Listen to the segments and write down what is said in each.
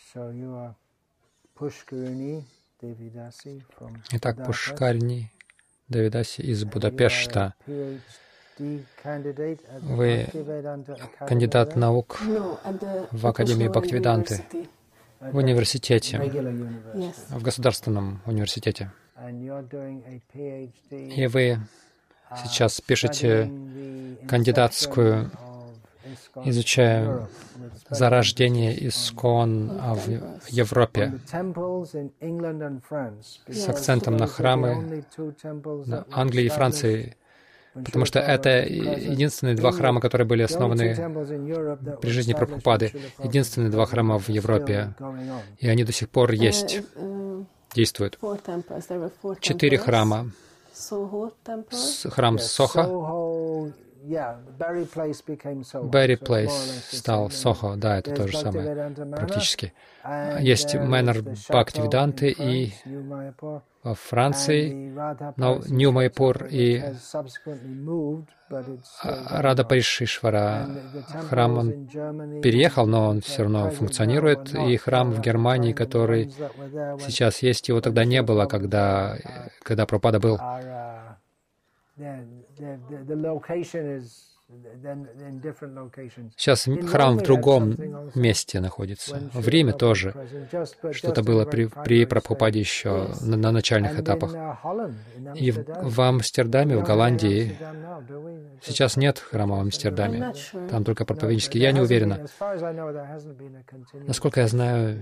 Итак, Пушкарини Девидаси из Будапешта. Вы кандидат наук в Академии Бхактивиданты, в университете, в государственном университете. И вы сейчас пишете кандидатскую, изучая зарождение ИСККОН в Европе с акцентом на храмы на Англии и Франции, потому что это единственные два храма, которые были основаны при жизни Прабхупады, единственные два храма в Европе, и они до сих пор есть, действуют. 4 храма. Храм Сохо, Берри Плейс стал Сохо, да, это то же самое практически. Есть Мэннер Бхактивиданты и во Франции, но Нью Майпур и Рада Паришишвара. Храм он переехал, но он все равно функционирует. И храм в Германии, который сейчас есть, его тогда не было, когда Прабхупада был. Сейчас храм в другом месте находится. В Риме тоже. Что-то было при Прабхупаде еще на начальных этапах. И в Амстердаме, в Голландии, сейчас нет храма в Амстердаме. Там только проповеднический. Я не уверена. Насколько я знаю,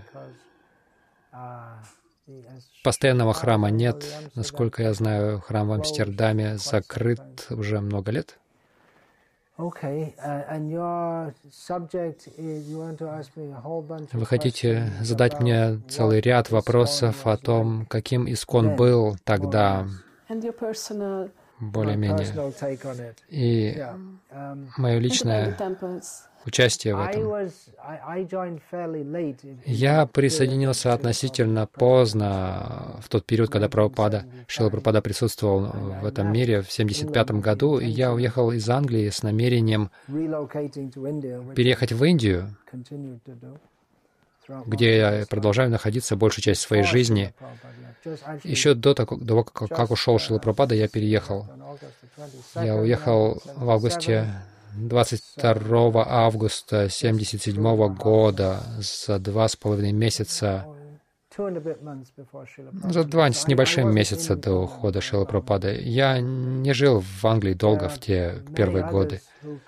постоянного храма нет. Насколько я знаю, храм в Амстердаме закрыт уже много лет. Вы хотите задать мне целый ряд вопросов о том, каким ИСККОН был тогда, более-менее, и мое личное участие в этом. Я присоединился относительно поздно, в тот период, когда Шрила Прабхупада присутствовал в этом мире в 1975 году, и я уехал из Англии с намерением переехать в Индию, где я продолжаю находиться большую часть своей жизни. Еще до того, как ушел Шрила Прабхупада, я переехал. Я уехал в августе 22 августа 1977 года, за 2,5 месяца, за 2 с небольшим месяца до ухода Шрилы Прабхупады. Я не жил в Англии долго в те первые годы.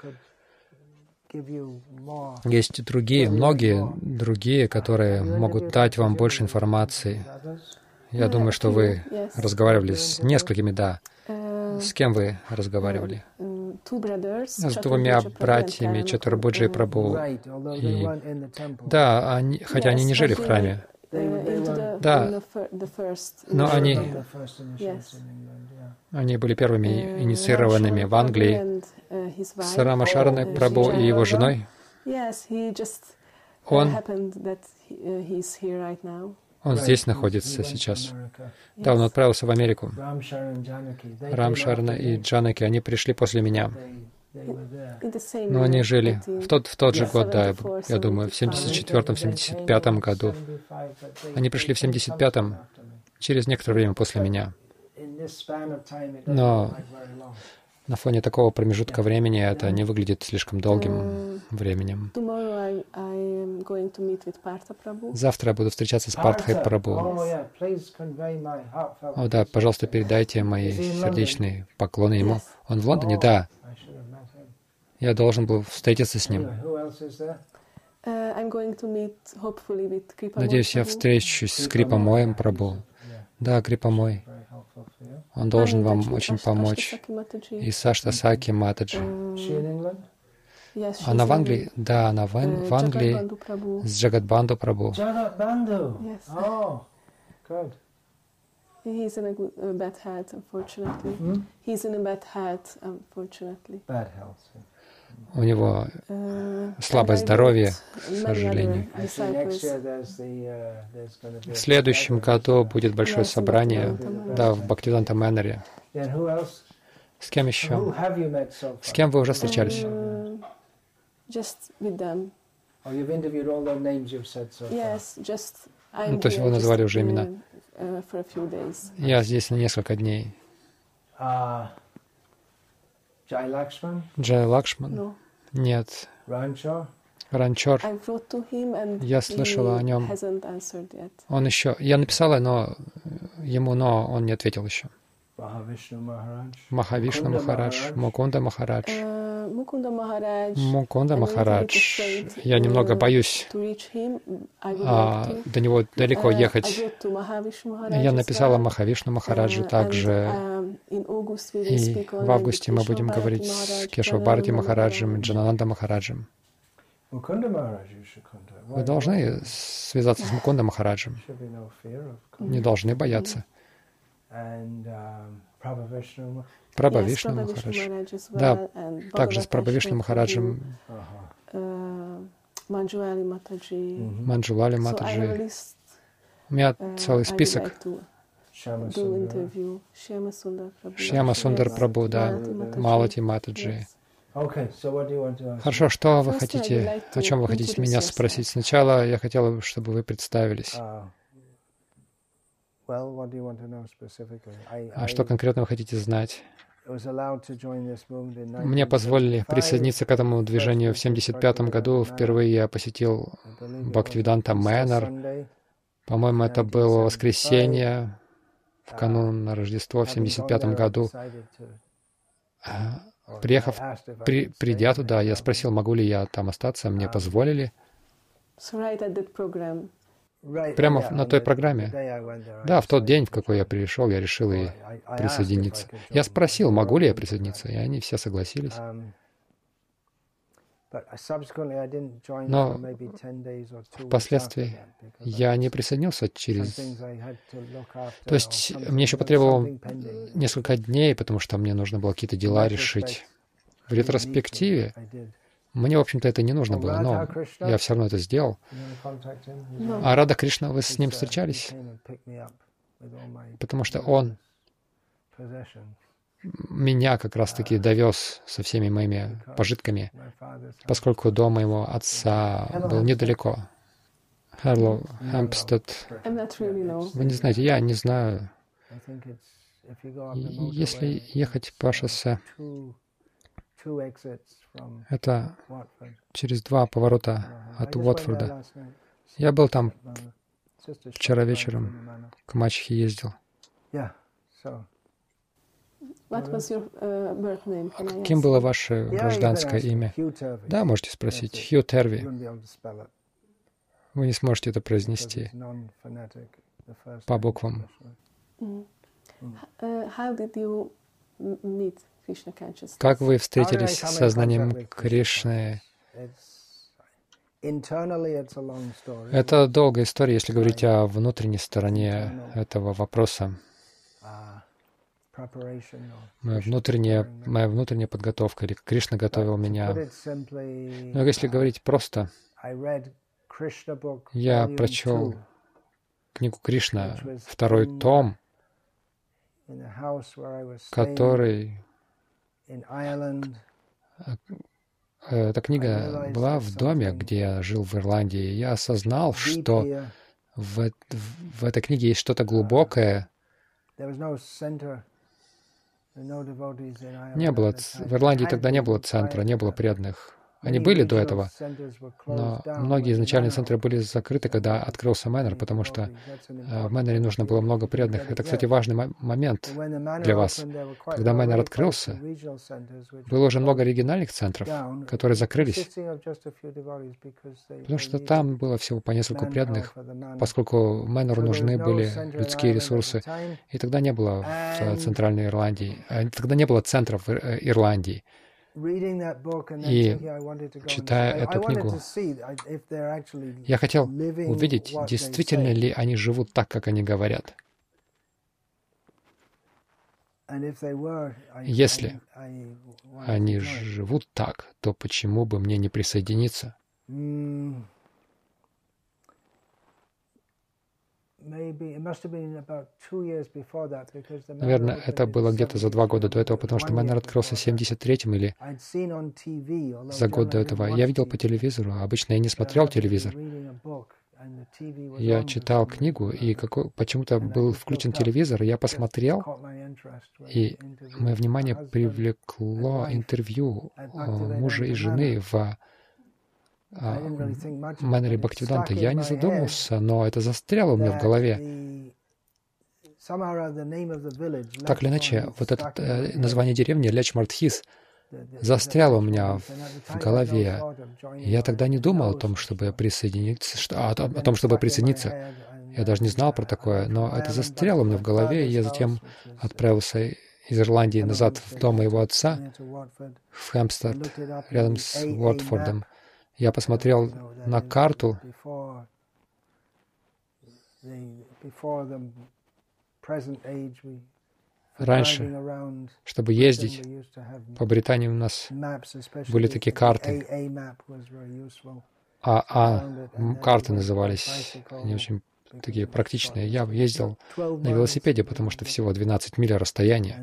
Есть многие другие, которые могут дать вам больше информации. Я думаю, что вы разговаривали с несколькими, да. С кем вы разговаривали? С 2 братьями Чатурбуджи Прабху. Да, хотя они не жили в храме. Да, но они были первыми инициированными в Англии. С Рамашарной Прабху и его женой. Он здесь находится сейчас. Да, он отправился в Америку. Рамшарна и Джанаки, они пришли после меня. Но они жили в тот же год, да, я думаю, в 1974-1975 году. Они пришли в 1975-м, через некоторое время после меня. Но на фоне такого промежутка времени это не выглядит слишком долгим временем. Завтра я буду встречаться с Партхой Прабху. О, да, пожалуйста, передайте мои сердечные поклоны ему. Он в Лондоне? Да. Я должен был встретиться с ним. Надеюсь, я встречусь с Крипамоем Прабху. Да, Крипамой. Он должен вам очень помочь. И Сашта Саки Матаджи. Она в Англии? Да, она в Англии с Джагадбанду Прабху. У него слабое здоровье, к сожалению. В следующем году будет большое собрание, да, в Бхактивиданта Мэннере. С кем еще? С кем вы уже встречались? Ну, то есть вы назвали уже имена. Я здесь на несколько дней. Джай Лакшман? Нет. Ранчор. Я слышала о нем. Он еще... Я написала, но он не ответил еще. Махавишну Махарадж, Мукунда Махарадж. Мукунда Махарадж. Я немного боюсь до него далеко ехать. Я написала Махавишну Махараджу также. И в августе мы будем говорить с Кешава Бхарати Махараджем и Джанананда Махараджем. Вы должны связаться с Мукунда Махараджем. Не должны бояться. Прабхавишну Махарадж. Да, также с Прабхавишну Махараджем. Манджулали Матаджи. У меня целый список. Шьяма Сундар Прабhu, да, Малати Матаджи. Хорошо, что вы хотите, о чем вы хотите меня спросить? Сначала я хотела, чтобы вы представились. А что конкретно вы хотите знать? Мне позволили присоединиться к этому движению в 1975 году. Впервые я посетил Бхактивиданта Мэннер. По-моему, это было воскресенье, в канун Рождества в 1975 году. Придя туда, я спросил, могу ли я там остаться. Мне позволили. Прямо на той программе. Да, в тот день, в какой я пришел, я решил и присоединиться. Я спросил, могу ли я присоединиться, и они все согласились. Но впоследствии я не присоединился через... То есть мне еще потребовалось несколько дней, потому что мне нужно было какие-то дела решить. В ретроспективе мне, в общем-то, это не нужно было, но я все равно это сделал. А Рада Кришна, вы с ним встречались? Потому что он меня как раз-таки довез со всеми моими пожитками, поскольку дом моего отца был недалеко. Hello, Хэмпстед. Вы не знаете, я не знаю. Если ехать по шоссе, это через 2 поворота от Уотфорда. Я был там вчера вечером, к мачехе ездил. Каким было ваше гражданское имя? Да, можете спросить. Хью Терви. Вы не сможете это произнести по буквам. Как вы встретились с сознанием Кришны? Это долгая история, если говорить о внутренней стороне этого вопроса. Моя внутренняя подготовка, или Кришна готовил меня. Но если говорить просто, я прочел книгу Кришна, 2-й том, который... Эта книга была в доме, где я жил в Ирландии. Я осознал, что в этой книге есть что-то глубокое. Не было, в Ирландии тогда не было центра, не было преданных. Они были до этого, но многие изначальные центры были закрыты, когда открылся Мэннер, потому что в Мэннере нужно было много преданных. Это, кстати, важный момент для вас. Когда Мэннер открылся, было уже много региональных центров, которые закрылись, потому что там было всего по нескольку преданных, поскольку Мэннеру нужны были людские ресурсы. И тогда не было в Центральной Ирландии, тогда не было центров Ирландии. И читая эту книгу, я хотел увидеть, действительно ли они живут так, как они говорят. Если они живут так, то почему бы мне не присоединиться? Наверное, это было где-то за 2 года до этого, потому что Мэннер открылся в 73-м или за год до этого. Я видел по телевизору, а обычно я не смотрел телевизор. Я читал книгу, и почему-то был включен телевизор, и я посмотрел, и мое внимание привлекло интервью мужа и жены в Мэннере Бхактивиданта. Я не задумался, но это застряло у меня в голове. Так или иначе, вот это название деревни Лечмардхис застряло у меня в голове. Я тогда не думал о том, чтобы присоединиться, о том, чтобы присоединиться. Я даже не знал про такое, но это застряло у меня в голове, и я затем отправился из Ирландии назад в дом моего отца, в Хэмпстед, рядом с Уотфордом. Я посмотрел на карту, раньше, чтобы ездить по Британии, у нас были такие карты. Карты назывались. Они очень такие практичные. Я ездил на велосипеде, потому что всего 12 миль расстояния.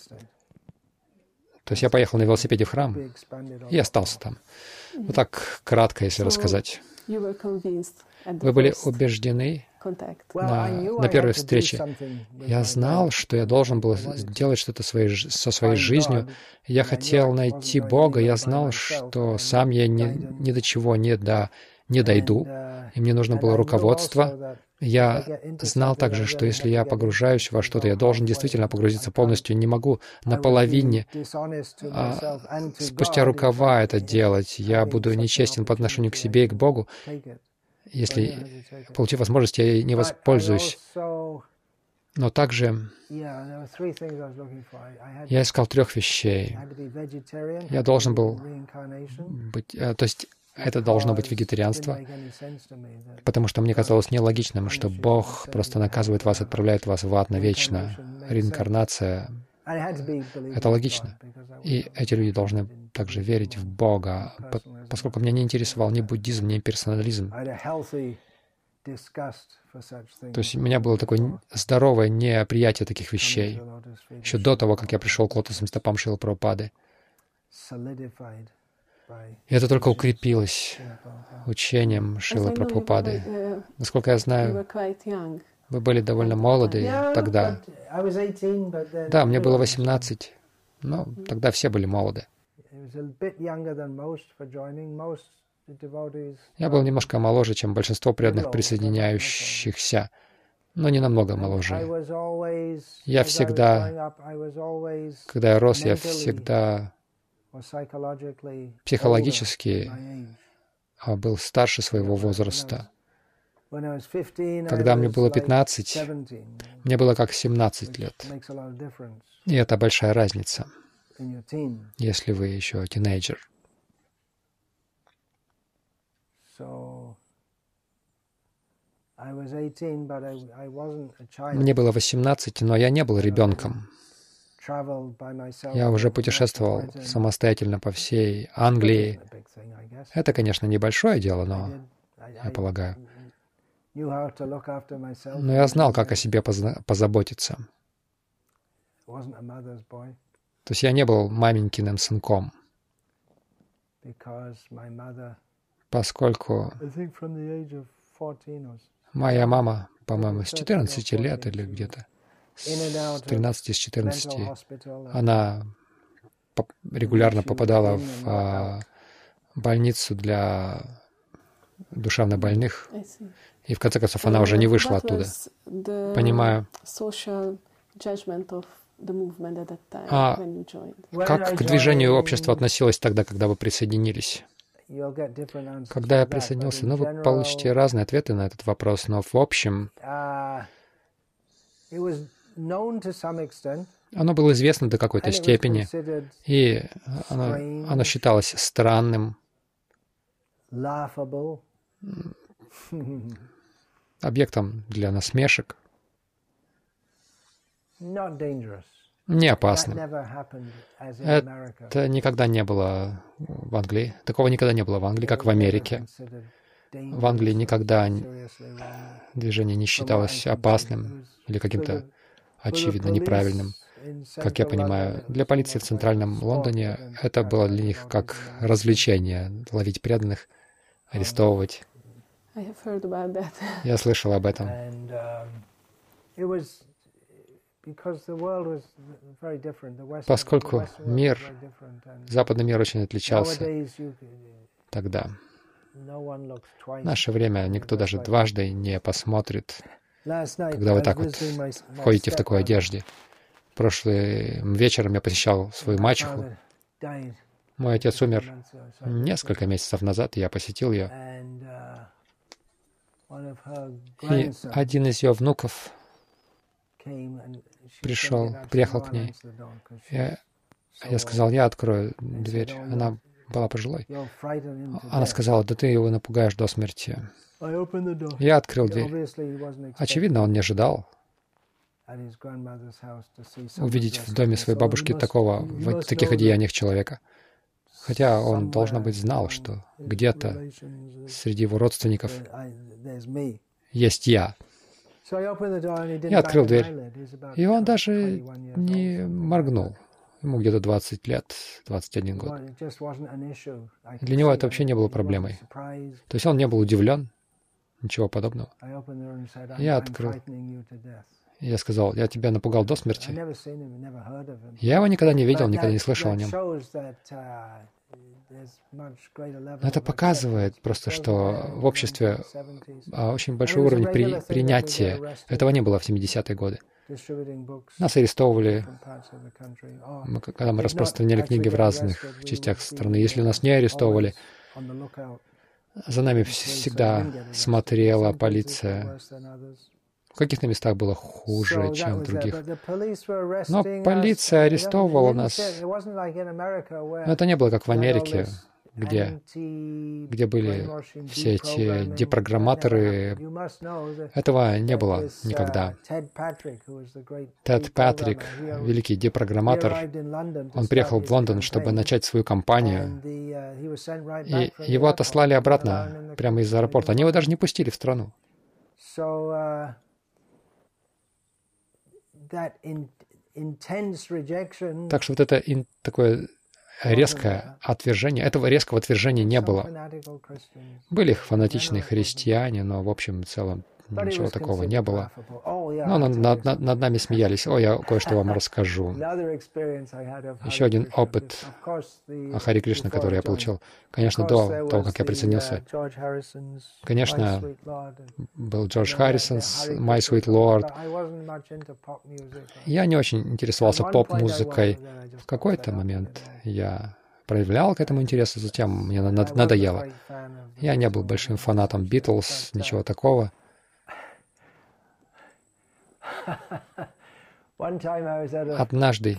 То есть я поехал на велосипеде в храм и остался там. Вот так кратко, если рассказать. Вы были убеждены на первой встрече. Я знал, что я должен был сделать что-то со своей жизнью. Я хотел найти Бога. Я знал, что сам я ни до чего не дойду, и мне нужно было руководство. Я знал также, что если я погружаюсь во что-то, я должен действительно погрузиться полностью. Не могу наполовине, спустя рукава это делать. Я буду нечестен по отношению к себе и к Богу. Если, получив возможность, я ей не воспользуюсь. Но также я искал 3 вещей. Я должен был быть... То есть это должно быть вегетарианство, потому что мне казалось нелогичным, что Бог просто наказывает вас, отправляет вас в ад навечно. Реинкарнация — это логично. И эти люди должны также верить в Бога, поскольку меня не интересовал ни буддизм, ни персонализм. То есть у меня было такое здоровое неприятие таких вещей, еще до того, как я пришел к лотосным стопам Шрилы Прабхупады. И это только укрепилось учением Шрилы Прабхупады. Насколько я знаю, вы были довольно молоды тогда. Да, мне было 18, но тогда все были молоды. Я был немножко моложе, чем большинство преданных присоединяющихся, но не намного моложе. Я всегда, когда я рос, я всегда психологически был старше своего возраста. Когда мне было 15, мне было как 17 лет. И это большая разница, если вы еще тинейджер. Мне было 18, но я не был ребенком. Я уже путешествовал самостоятельно по всей Англии. Это, конечно, небольшое дело, но, я полагаю. Но я знал, как о себе позаботиться. То есть я не был маменькиным сынком, поскольку моя мама, по-моему, с 14 лет или где-то, с 13, с 14, она регулярно попадала в больницу для душевнобольных, и в конце концов она уже не вышла оттуда. Понимаю. А как к движению общества относилось тогда, когда вы присоединились? Когда я присоединился, вы получите разные ответы на этот вопрос, но в общем оно было известно до какой-то степени, и оно считалось странным, объектом для насмешек, не опасным. Это никогда не было в Англии. Такого никогда не было в Англии, как в Америке. В Англии никогда движение не считалось опасным или каким-то очевидно неправильным. Как я понимаю, для полиции в центральном Лондоне это было для них как развлечение — ловить преданных, арестовывать. Я слышал об этом. Поскольку западный мир очень отличался тогда. В наше время никто даже дважды не посмотрит, когда вы так вот входите в такой одежде. Прошлым вечером я посещал свою мачеху. Мой отец умер несколько месяцев назад, и я посетил ее. И один из ее внуков приехал к ней. Я сказал, я открою дверь. Она была пожилой. Она сказала, да ты его напугаешь до смерти. Я открыл дверь. Очевидно, он не ожидал увидеть в доме своей бабушки такого, в таких одеяниях человека. Хотя он, должно быть, знал, что где-то среди его родственников есть я. Я открыл дверь, и он даже не моргнул. Ему где-то 20 лет, 21 год. Для него это вообще не было проблемой. То есть он не был удивлен, ничего подобного. Я открыл. Я сказал, я тебя напугал до смерти. Я его никогда не видел, никогда не слышал о нем. Но это показывает просто, что в обществе очень большой уровень принятия. Этого не было в 70-е годы. Нас арестовывали, когда мы распространяли книги в разных частях страны. Если нас не арестовывали, за нами всегда смотрела полиция. В каких-то местах было хуже, чем в других. Но полиция арестовывала нас. Но это не было как в Америке, где были все эти депрограмматоры. Этого не было никогда. Тед Патрик, великий депрограмматор, он приехал в Лондон, чтобы начать свою кампанию, и его отослали обратно прямо из аэропорта. Они его даже не пустили в страну. Так что вот это такое резкое отвержение, этого резкого отвержения не было. Были фанатичные христиане, но в общем и целом ничего такого не было. Но над нами смеялись. О, я кое-что вам расскажу. Еще один опыт о Харе Кришна, который я получил. Конечно, до того, как я присоединился. Конечно, был Джордж Харрисон, My Sweet Lord. Я не очень интересовался поп-музыкой. В какой-то момент я проявлял к этому интерес, затем мне надоело. Я не был большим фанатом Битлз, ничего такого. Однажды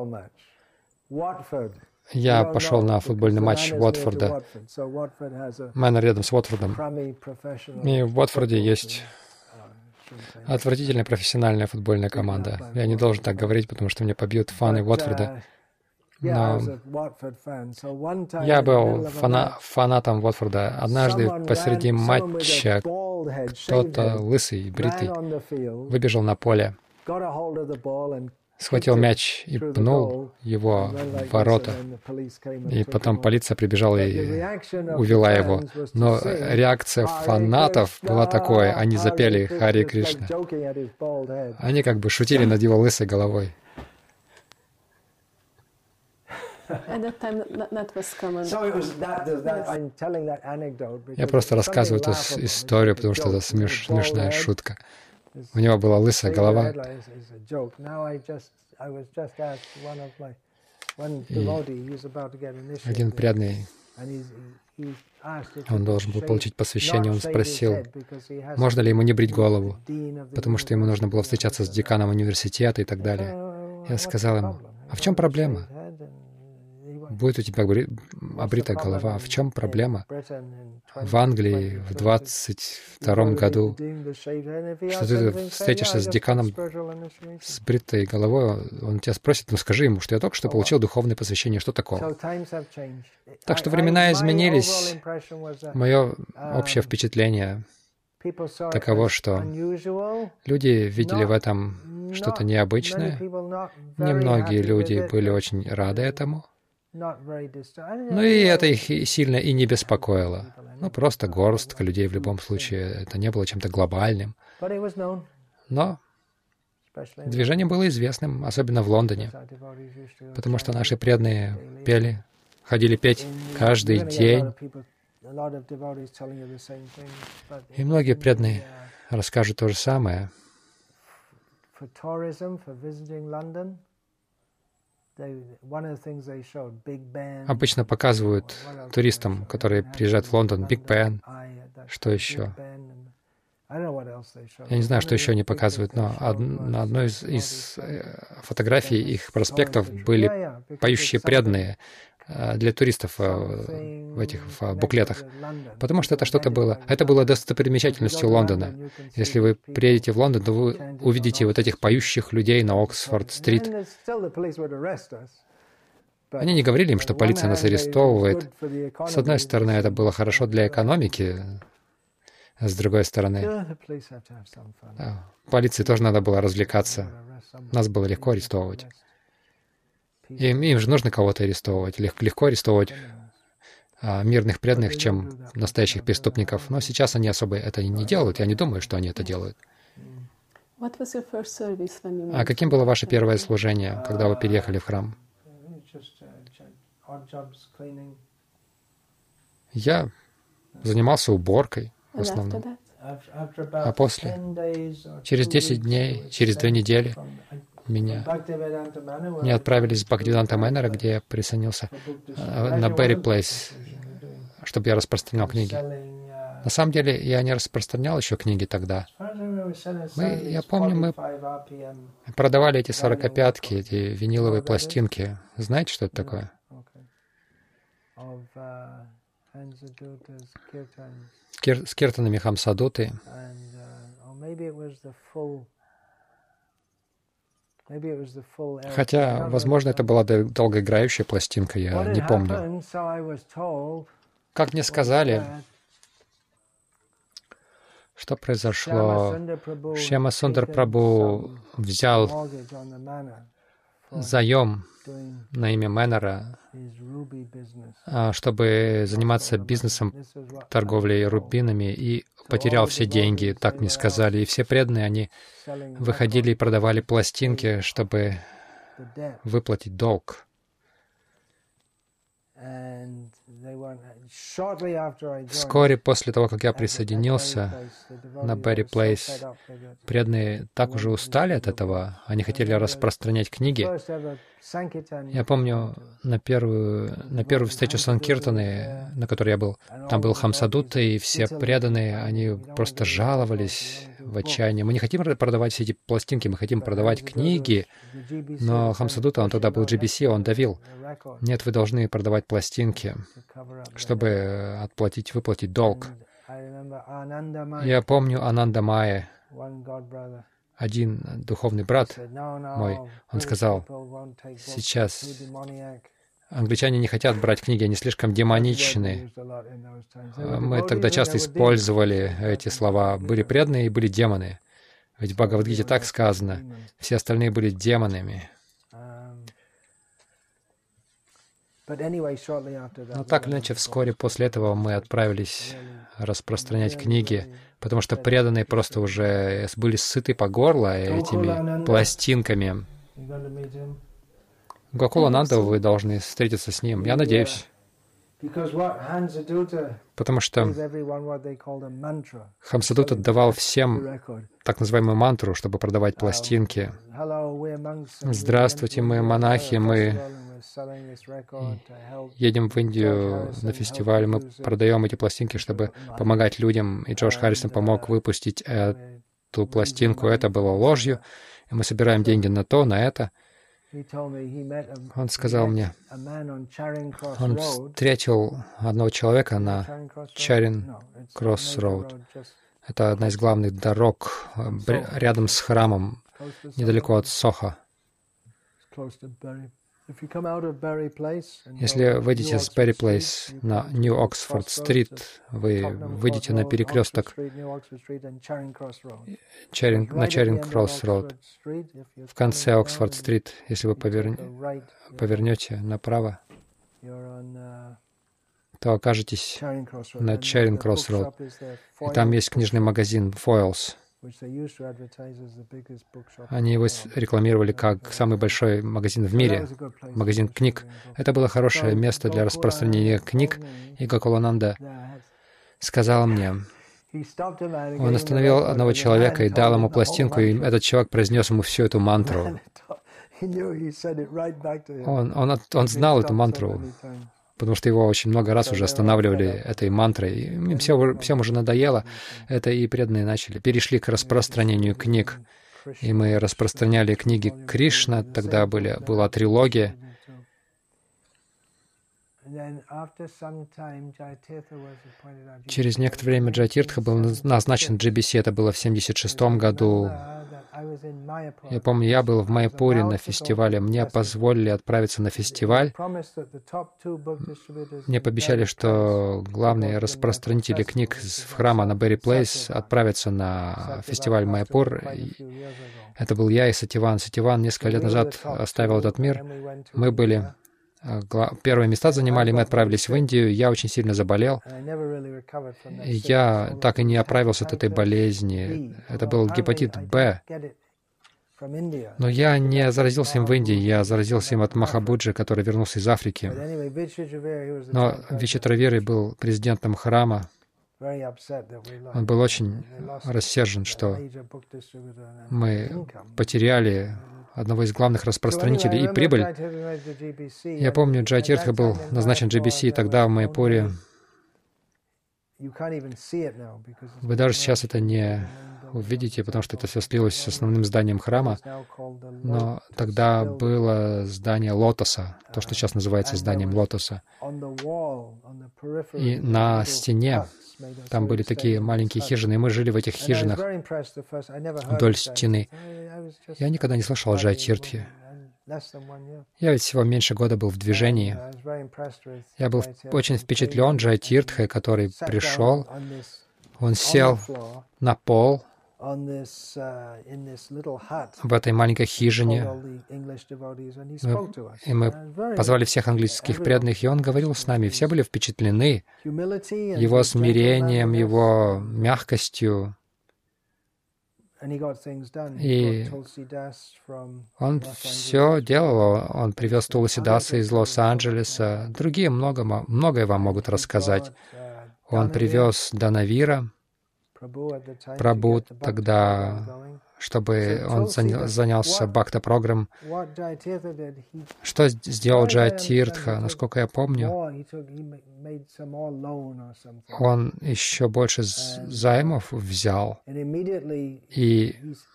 я пошел на футбольный матч Уотфорда. Мэннер рядом с Уотфордом. И в Уотфорде есть отвратительная профессиональная футбольная команда. Я не должен так говорить, потому что меня побьют фаны Уотфорда. Но я был фанатом Уотфорда. Однажды посреди матча кто-то лысый, бритый, выбежал на поле, схватил мяч и пнул его в ворота. И потом полиция прибежала и увела его. Но реакция фанатов была такой. Они запели «Харе Кришна». Они как бы шутили над его лысой головой. Я просто рассказываю эту историю, потому что это смешная шутка. У него была лысая голова. И один преданный, он должен был получить посвящение, он спросил, можно ли ему не брить голову, потому что ему нужно было встречаться с деканом университета и так далее. Я сказал ему, а в чем проблема? будет у тебя обритая голова. В чем проблема? В Англии в 22 году, что ты встретишься с деканом с бритой головой, он тебя спросит, ну скажи ему, что я только что получил духовное посвящение, что такого? Так что времена изменились. Мое общее впечатление таково, что люди видели в этом что-то необычное. Немногие люди были очень рады этому. Ну и это их сильно и не беспокоило. Ну, просто горстка людей в любом случае. Это не было чем-то глобальным. Но движение было известным, особенно в Лондоне, потому что наши преданные пели, ходили петь каждый день. И многие преданные расскажут то же самое. Обычно показывают туристам, которые приезжают в Лондон, Биг Бен, что еще. Я не знаю, что еще они показывают, но на одной из фотографий их проспектов были поющие преданные для туристов в этих буклетах, потому что это что-то было. Это было достопримечательностью Лондона. Если вы приедете в Лондон, то вы увидите вот этих поющих людей на Оксфорд-стрит. Они не говорили им, что полиция нас арестовывает. С одной стороны, это было хорошо для экономики, а с другой стороны, полиции тоже надо было развлекаться. Нас было легко арестовывать. Им же нужно кого-то арестовывать. Легко арестовывать мирных преданных, чем настоящих преступников. Но сейчас они особо это не делают. Я не думаю, что они это делают. А каким было ваше первое служение, когда вы переехали в храм? Я занимался уборкой в основном. А после, через 10 дней, через 2 недели, меня отправились в Бхактивиданта Мэннера, где я присоединился на Берри Плейс, чтобы я распространял книги. На самом деле, я не распространял еще книги тогда. Я помню, мы продавали эти 45-ки, эти виниловые пластинки. Знаете, что это такое? С киртанами Хамсадуты. Хотя, возможно, это была долгоиграющая пластинка, я не помню. Как мне сказали, что произошло? Шьяма Сундар Прабху взял заем на имя Мэннера, чтобы заниматься бизнесом, торговлей рубинами, и потерял все деньги, так мне сказали. И все преданные, они выходили и продавали пластинки, чтобы выплатить долг. Вскоре после того, как я присоединился на Берри Плейс, преданные так уже устали от этого, они хотели распространять книги. Я помню, на первую встречу Санкиртаны, на которой я был, там был Хамсадута, и все преданные, они просто жаловались в отчаянии. Мы не хотим продавать все эти пластинки, мы хотим продавать книги, но Хамсадута, он тогда был GBC, он давил. Нет, вы должны продавать пластинки, чтобы выплатить долг. Я помню Ананда Майя, один духовный брат мой, он сказал, сейчас англичане не хотят брать книги, они слишком демоничны. Мы тогда часто использовали эти слова. Были преданные и были демоны. Ведь в Бхагавад-гите так сказано, все остальные были демонами. Но так или иначе, вскоре после этого мы отправились распространять книги, потому что преданные просто уже были сыты по горло этими пластинками. Гокулананда, вы должны встретиться с ним. Я надеюсь. Потому что Хамсадута давал всем так называемую мантру, чтобы продавать пластинки. Здравствуйте, мы монахи, мы едем в Индию на фестиваль, мы продаем эти пластинки, чтобы помогать людям. И Джош Харрисон помог выпустить эту пластинку. Это было ложью. И мы собираем деньги на то, на это. Он сказал мне, он встретил одного человека на Чаринг-Кросс-Роуд. Это одна из главных дорог рядом с храмом, недалеко от Сохо. Если выйдете с Берри Плейс на Нью-Оксфорд-стрит, вы выйдете на перекресток на Чаринг-Кросс-Роуд. В конце Оксфорд-стрит, если вы повернете направо, то окажетесь на Чаринг-Кросс-Роуд. И там есть книжный магазин Foyles. Они его рекламировали как самый большой магазин в мире, магазин книг. Это было хорошее место для распространения книг, и Гокулананда сказал мне, он остановил одного человека и дал ему пластинку, и этот человек произнес ему всю эту мантру. Он знал эту мантру, потому что его очень много раз уже останавливали этой мантрой. И им всем уже надоело. Это и преданные перешли к распространению книг. И мы распространяли книги Кришна, тогда была трилогия. Через некоторое время Джайатиртха был назначен GBC, это было в 1976 году. Я помню, я был в Майяпуре на фестивале, мне позволили отправиться на фестиваль. Мне пообещали, что главные распространители книг в храма на Берри Плейс отправятся на фестиваль Майяпур. Это был я и Сативан. Сативан несколько лет назад оставил этот мир. Мы были... Первые места занимали, мы отправились в Индию, я очень сильно заболел. Я так и не оправился от этой болезни. Это был гепатит Б. Но я не заразился им в Индии, я заразился им от Махабуджи, который вернулся из Африки. Но Вичитравиры был президентом храма. Он был очень рассержен, что мы потеряли одного из главных распространителей и прибыль. Я помню, Джайатиртха был назначен GBC, и тогда в Майяпуре. Вы даже сейчас это не увидите, потому что это все слилось с основным зданием храма. Но тогда было здание Лотоса, то, что сейчас называется зданием Лотоса. И на стене там были такие маленькие хижины, и мы жили в этих хижинах вдоль стены. Я никогда не слышал о Джайатиртхе. Я ведь всего меньше года был в движении. Я был очень впечатлен Джайатиртхой, который пришел. Он сел на пол в этой маленькой хижине, и мы позвали всех английских преданных, и он говорил с нами. Все были впечатлены его смирением, его мягкостью. И он все делал. Он привез Туласидаса из Лос-Анджелеса. Другие многое вам могут рассказать. Он привез Данавира, Прабhu тогда, чтобы он занялся бхакта-программ. Что сделал Джайатиртха? Насколько я помню, он еще больше займов взял. И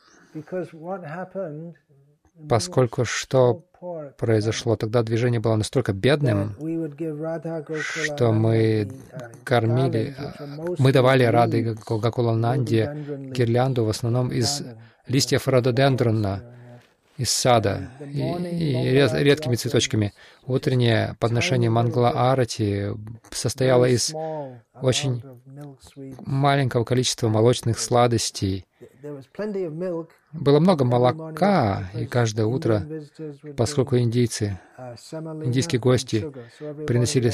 поскольку что произошло, тогда движение было настолько бедным, что мы давали Рады Гокулананде гирлянду в основном из листьев рододендрона, из сада, и редкими цветочками. Утреннее подношение Мангала-арати состояло из очень маленького количества молочных сладостей. Было много молока, и каждое утро, поскольку индийские гости приносили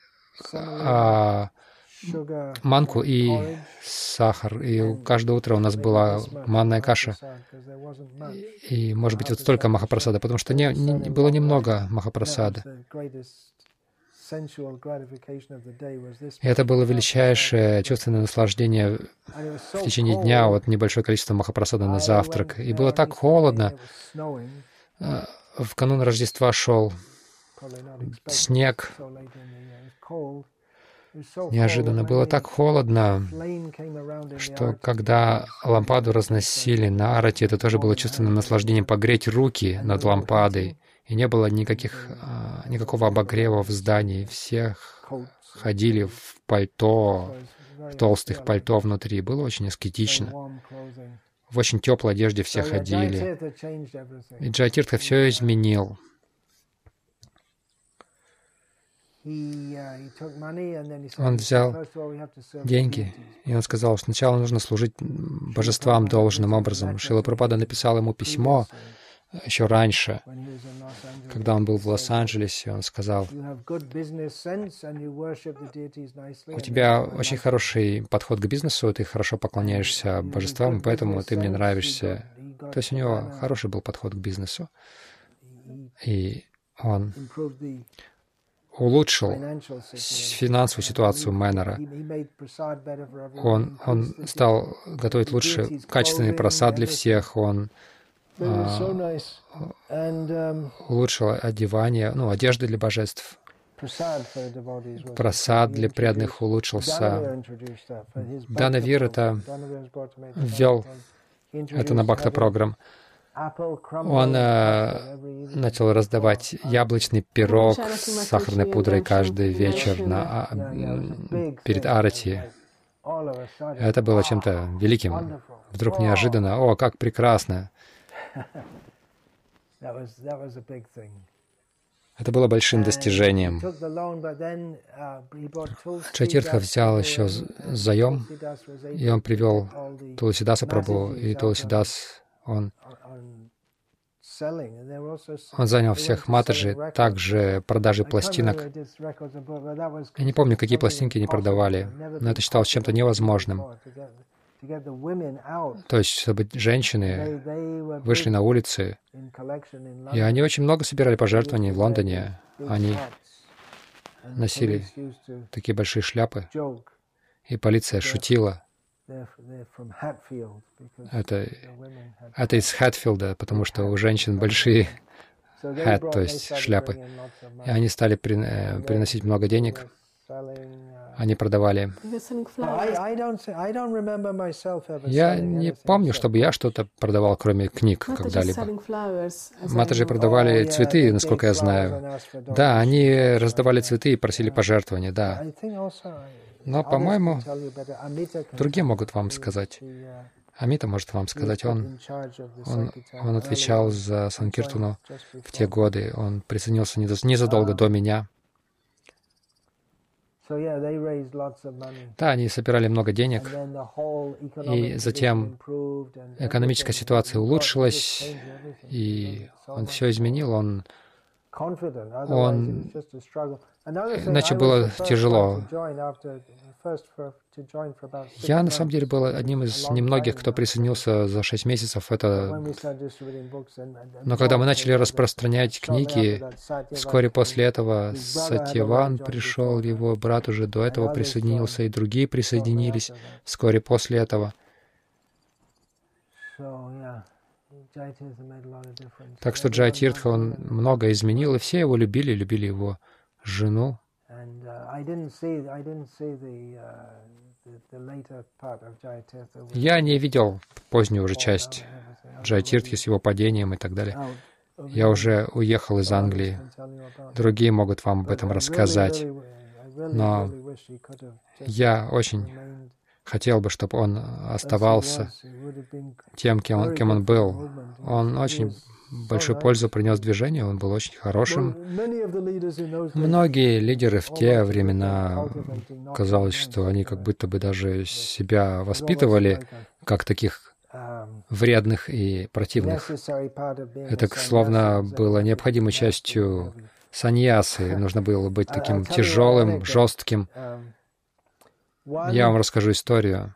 манку и сахар, и каждое утро у нас была манная каша. И, может быть, вот столько махапрасада, потому что было немного махапрасада. И это было величайшее чувственное наслаждение в течение дня, вот небольшое количество махапрасада на завтрак. И было так холодно. В канун Рождества шел снег. Неожиданно было так холодно, что когда лампаду разносили на арати, это тоже было чувственным наслаждением погреть руки над лампадой и не было никакого обогрева в здании. Все ходили в пальто, в толстых пальто внутри. Было очень аскетично. В очень теплой одежде все ходили. И Джайатиртха все изменил. Он взял деньги, и он сказал, что сначала нужно служить божествам должным образом. Шрила Прабхупада написал ему письмо еще раньше, когда он был в Лос-Анджелесе. Он сказал: у тебя очень хороший подход к бизнесу, ты хорошо поклоняешься божествам, поэтому ты мне нравишься. То есть у него хороший был подход к бизнесу. И он улучшил финансовую ситуацию Мэннера. Он стал готовить лучше качественный прасад для всех. Он улучшил одевание, одежды для божеств. Прасад для преданных улучшился. Данавир ввел это на Бхакта-программ. Он начал раздавать яблочный пирог с сахарной пудрой каждый вечер перед арати. Это было чем-то великим. Вдруг неожиданно: «О, как прекрасно!» Это было большим достижением. Джайатиртха взял еще заем, и он привел Туласидаса Прабху, и Туласидас, он занял всех матаджи, также продажи пластинок. Я не помню, какие пластинки они продавали, но это считалось чем-то невозможным. То есть, чтобы женщины вышли на улицы, и они очень много собирали пожертвований в Лондоне. Они носили такие большие шляпы, и полиция шутила. Это из Хэтфилда, потому что у женщин большие hat, то есть шляпы. И они стали приносить много денег. Они продавали. Я не помню, чтобы я что-то продавал, кроме книг, когда-либо. Матаджи продавали цветы, насколько я знаю. Да, они раздавали цветы и просили пожертвования, да. Но, по-моему, другие могут вам сказать. Амита может вам сказать. Он отвечал за Санкиртану в те годы. Он присоединился незадолго до меня. Да, они собирали много денег, и затем экономическая ситуация улучшилась, и он все изменил. Иначе было тяжело. Я, на самом деле, был одним из немногих, кто присоединился за 6 месяцев. Но когда мы начали распространять книги, вскоре после этого Сатьяван пришел, его брат уже до этого присоединился, и другие присоединились вскоре после этого. Так что Джайатиртха, он много изменил, и все его любили его жену. Я не видел позднюю уже часть Джайатиртхи с его падением и так далее. Я уже уехал из Англии. Другие могут вам об этом рассказать. Но я очень хотел бы, чтобы он оставался тем, кем он был. Он очень большую пользу принес движению, он был очень хорошим. Многие лидеры в те времена, казалось, что они как будто бы даже себя воспитывали как таких вредных и противных. Это словно было необходимой частью саньясы. Нужно было быть таким тяжелым, жестким. Я вам расскажу историю.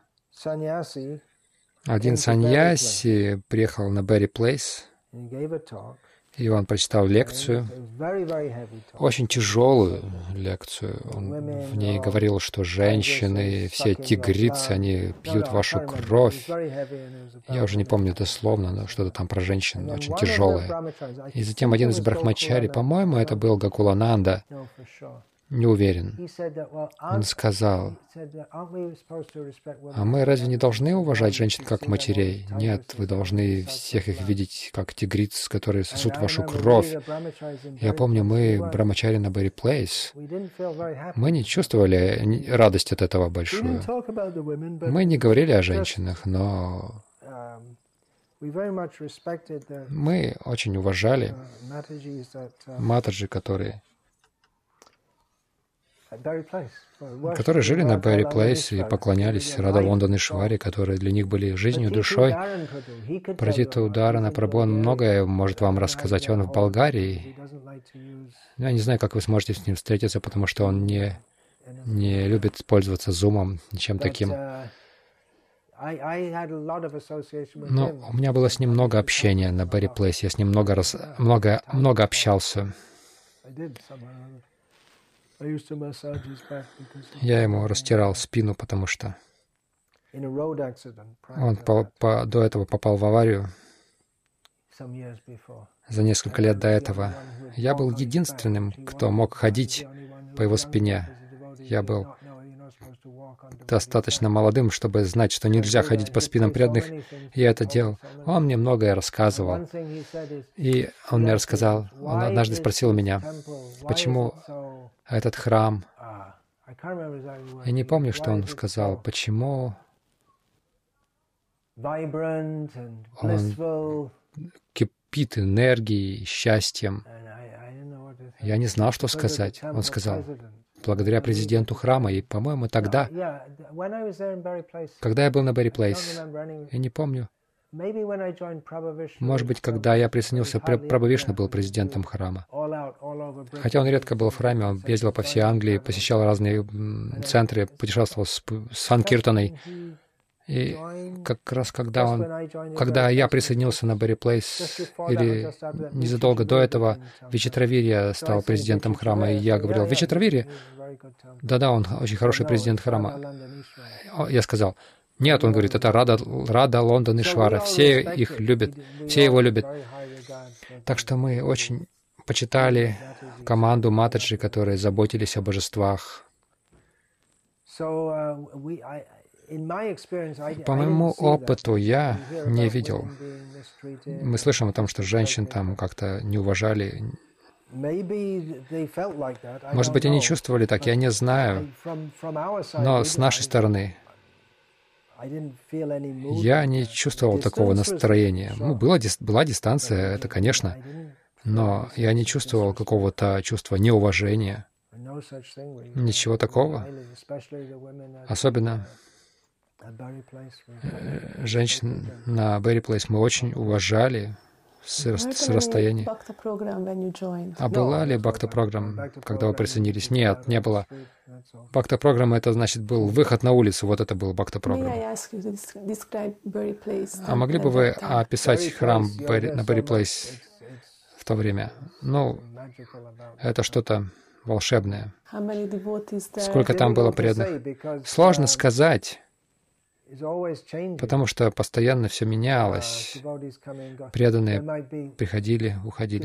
Один саньяси приехал на Берри Плейс, и он прочитал лекцию, очень тяжелую лекцию. Он в ней говорил, что женщины, все тигрицы, они пьют вашу кровь. Я уже не помню дословно, но что-то там про женщин очень тяжелое. И затем один из брахмачари, по-моему, это был Гакулананда. не уверен. Он сказал, а мы разве не должны уважать женщин как матерей? Нет, вы должны всех их видеть как тигриц, которые сосут вашу кровь. Я помню, мы, брамачари на Берри Плейс, мы не чувствовали радость от этого большую. Мы не говорили о женщинах, но мы очень уважали матаджи, которые жили на Берри Плейс и поклонялись Рада Лонданишвари, которые для них были жизнью, душой. Пратита Ударана Прабху, он многое может вам рассказать. Он в Болгарии. Я не знаю, как вы сможете с ним встретиться, потому что он не любит пользоваться зумом, ничем таким. Но у меня было с ним много общения на Берри Плейс. Я с ним много общался. Я ему растирал спину, потому что он до этого попал в аварию. За несколько лет до этого я был единственным, кто мог ходить по его спине. Я был достаточно молодым, чтобы знать, что нельзя ходить по спинам преданных. Я это делал. Он мне многое рассказывал. И он мне рассказал, он однажды спросил меня, почему этот храм, я не помню, что он сказал, почему он кипит энергией, счастьем. Я не знал, что сказать. Он сказал, благодаря президенту храма. И, по-моему, тогда, когда я был на Берри Плейс, я не помню, может быть, когда я присоединился, Прабхавишна был президентом храма. Хотя он редко был в храме, он ездил по всей Англии, посещал разные центры, путешествовал с Санкиртаной. И как раз когда я присоединился на Берри Плейс, или незадолго до этого, Вичитравирья стал президентом храма, и я говорил, Вичитравирья? Да-да, он очень хороший президент храма. Я сказал, нет, он говорит, это Рада Лонданишвара, все их любят, все его любят. Так что мы очень почитали команду матаджи, которые заботились о божествах. По моему опыту я не видел. Мы слышим о том, что женщин там как-то не уважали. Может быть, они чувствовали так, я не знаю. Но с нашей стороны я не чувствовал такого настроения. Ну, была дистанция, это, конечно, но я не чувствовал какого-то чувства неуважения. Ничего такого. Особенно женщин на Берри Плейс мы очень уважали с расстояния. А была ли бхакта-программа, когда вы присоединились? Нет, не было. Бхакта-программа — это, значит, был выход на улицу. Вот это был бхакта-программа. А могли бы вы описать храм на Берри Плейс в то время? Ну, это что-то волшебное. Сколько там было преданных? Сложно сказать, потому что постоянно все менялось. Преданные приходили, уходили.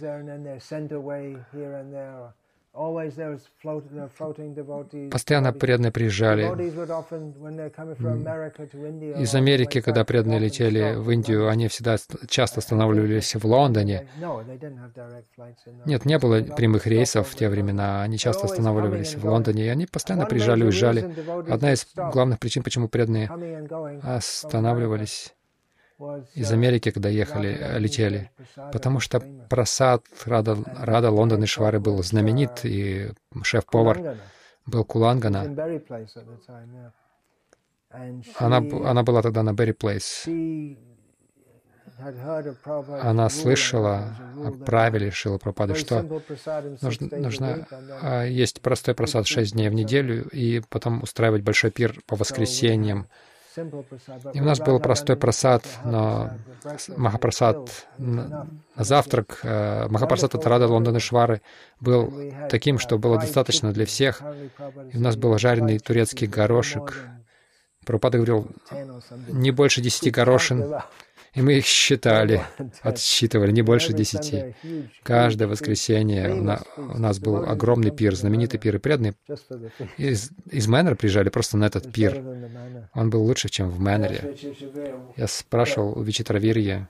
Постоянно преданные приезжали. Из Америки, когда преданные летели в Индию, они всегда часто останавливались в Лондоне. Нет, не было прямых рейсов в те времена. Они часто останавливались в Лондоне, и они постоянно приезжали, уезжали. Одна из главных причин, почему преданные останавливались из Америки, когда летели, потому что прасад Рада Лонданишвары был знаменит, и шеф-повар был Кулангана. Она была тогда на Берри Плейс. Она слышала о правиле Шрилы Прабхупады, что нужно есть простой прасад 6 дней в неделю и потом устраивать большой пир по воскресеньям. И у нас был простой прасад, но Махапрасад на завтрак, Махапрасад от Рада Лонданишвары был таким, что было достаточно для всех. И у нас был жареный турецкий горошек. Прабхупада говорил, не больше 10 горошин. И мы их считали, отсчитывали, не больше 10. Каждое воскресенье у нас был огромный пир, знаменитый пир, и преданные из Мэннера приезжали просто на этот пир. Он был лучше, чем в Мэннере. Я спрашивал у Вичитравирьи,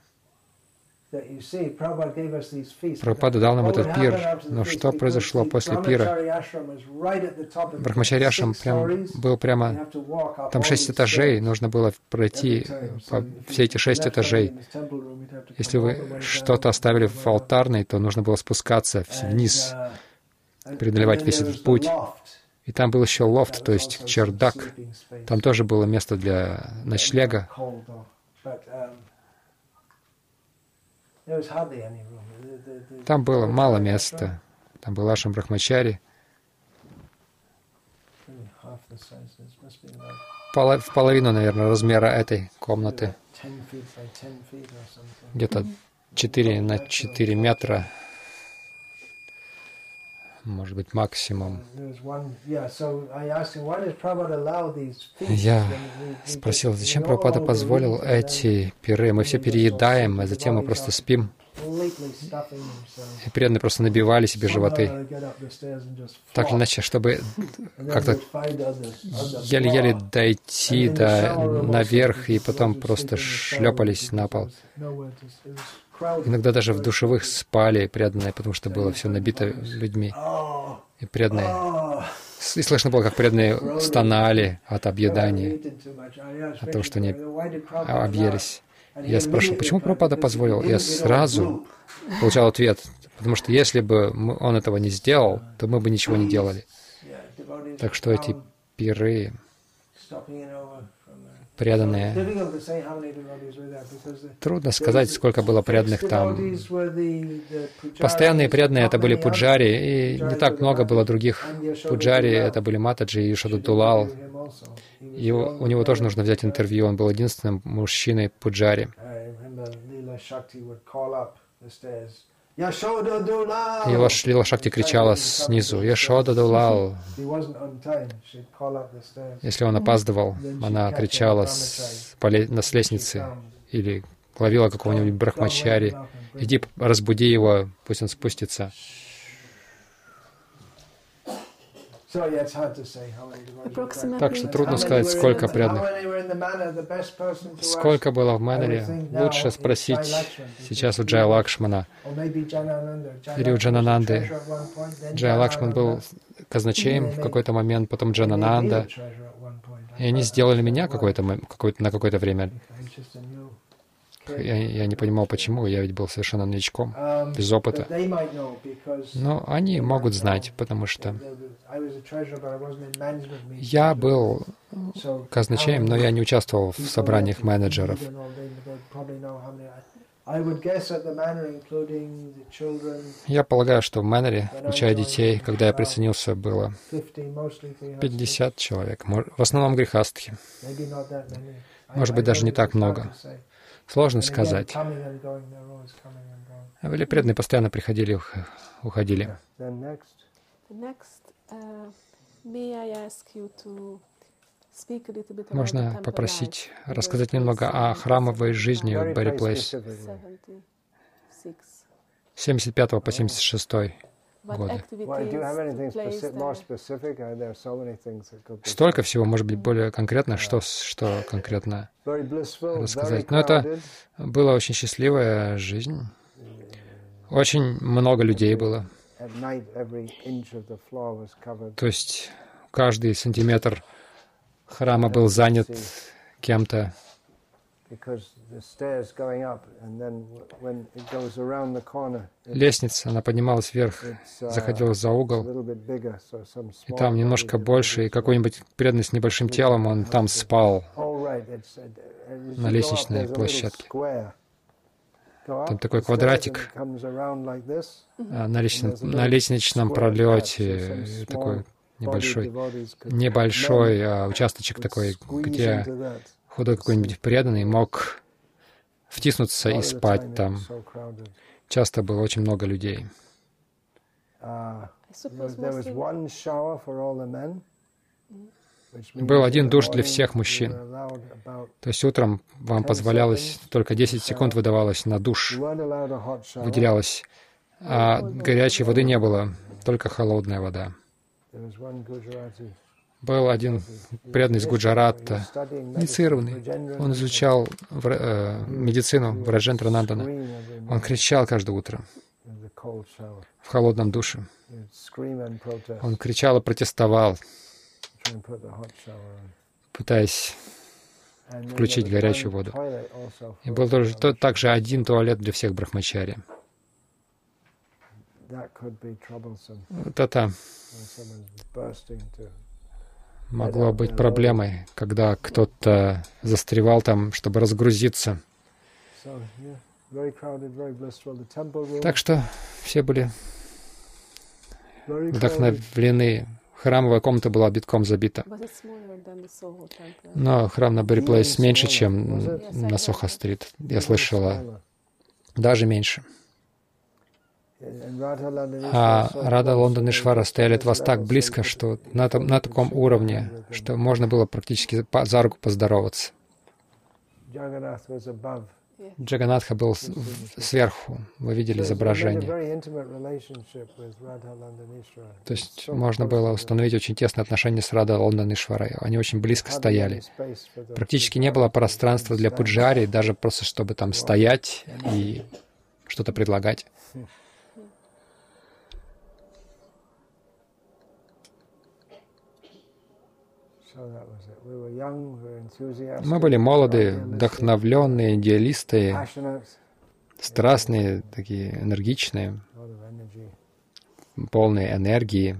Прабхупада дал нам этот пир, но что произошло после пира? Брахмачари Ашрам был прямо... Там 6 этажей, нужно было пройти все эти 6 этажей. Если вы что-то оставили в алтарной, то нужно было спускаться вниз, преодолевать весь этот путь. И там был еще лофт, то есть чердак. Там тоже было место для ночлега. Там было мало места. Там был Ашрам Брахмачари. В половину, наверное, размера этой комнаты. Где-то 4 на 4 метра. Может быть, максимум. Я спросил, зачем Прабхупада позволил эти пиры? Мы все переедаем, а затем мы просто спим. И преданные просто набивали себе животы. Так или иначе, чтобы как-то еле-еле дойти наверх, и потом просто шлепались на пол. Иногда даже в душевых спали преданные, потому что было все набито людьми. И преданные... И слышно было, как преданные стонали от объедания, от того, что они объелись. Я спрашивал, почему Прабхупада позволил? Я сразу получал ответ, потому что если бы он этого не сделал, то мы бы ничего не делали. Так что эти пиры, преданные, трудно сказать, сколько было преданных там. Постоянные преданные — это были пуджари, и не так много было других пуджари, это были Матаджи и Йошода Дулал. И у него тоже нужно взять интервью, он был единственным мужчиной пуджари. И Лила Шакти кричала снизу: «Йошода Дулал!» Если он опаздывал, она кричала с лестницы или ловила какого-нибудь брахмачари: «Иди, разбуди его, пусть он спустится». Так что трудно сказать, сколько преданных. Сколько было в Мэннере, лучше спросить сейчас у Джая Лакшмана или у Джанананды. Джая Лакшман был казначеем в какой-то момент, потом Джанананда. И они сделали меня на какое-то время. Я не понимал, почему, я ведь был совершенно новичком, без опыта. Но они могут знать, потому что я был казначеем, но я не участвовал в собраниях менеджеров. Я полагаю, что в Мэннере, включая детей, когда я присоединился, было 50 человек, в основном грехастхи. Может быть, даже не так много. Сложно сказать. Были преданные, постоянно приходили и уходили. Можно попросить рассказать немного о храмовой жизни в Берри Плейс с 75 по 76 годы. Столько всего, может быть, более конкретно, что конкретно рассказать. Но это была очень счастливая жизнь. Очень много людей было. То есть каждый сантиметр храма был занят кем-то. Лестница, она поднималась вверх, заходила за угол, и там немножко больше, и какой-нибудь преданный с небольшим телом, он там спал на лестничной площадке. Там такой квадратик на лестничном пролете, такой небольшой участочек такой, где худой какой-нибудь преданный мог втиснуться и спать там. Часто было очень много людей. Был один душ для всех мужчин. То есть утром вам позволялось, только 10 секунд выдавалось на душ, выделялось, а горячей воды не было, только холодная вода. Был один преданный из Гуджарата, инициированный. Он изучал медицину Враджендра Нандана. Он кричал каждое утро в холодном душе. Он кричал и протестовал, пытаясь включить горячую воду. И был также один туалет для всех брахмачари. Вот это могло быть проблемой, когда кто-то застревал там, чтобы разгрузиться. Так что все были вдохновлены. Храмовая комната была битком забита. Но храм на Берри Плейс меньше, чем на Сохо-стрит. Я слышала, даже меньше. А Рада, Лондон и Швара стояли от вас так близко, что на таком уровне, что можно было практически за руку поздороваться. Джаганатха был сверху, вы видели изображение. То есть можно было установить очень тесные отношения с Рада, Лондон и Шварой. Они очень близко стояли. Практически не было пространства для пуджари, даже просто чтобы там стоять и что-то предлагать. Мы были молоды, вдохновленные, идеалисты, страстные, такие энергичные, полные энергии.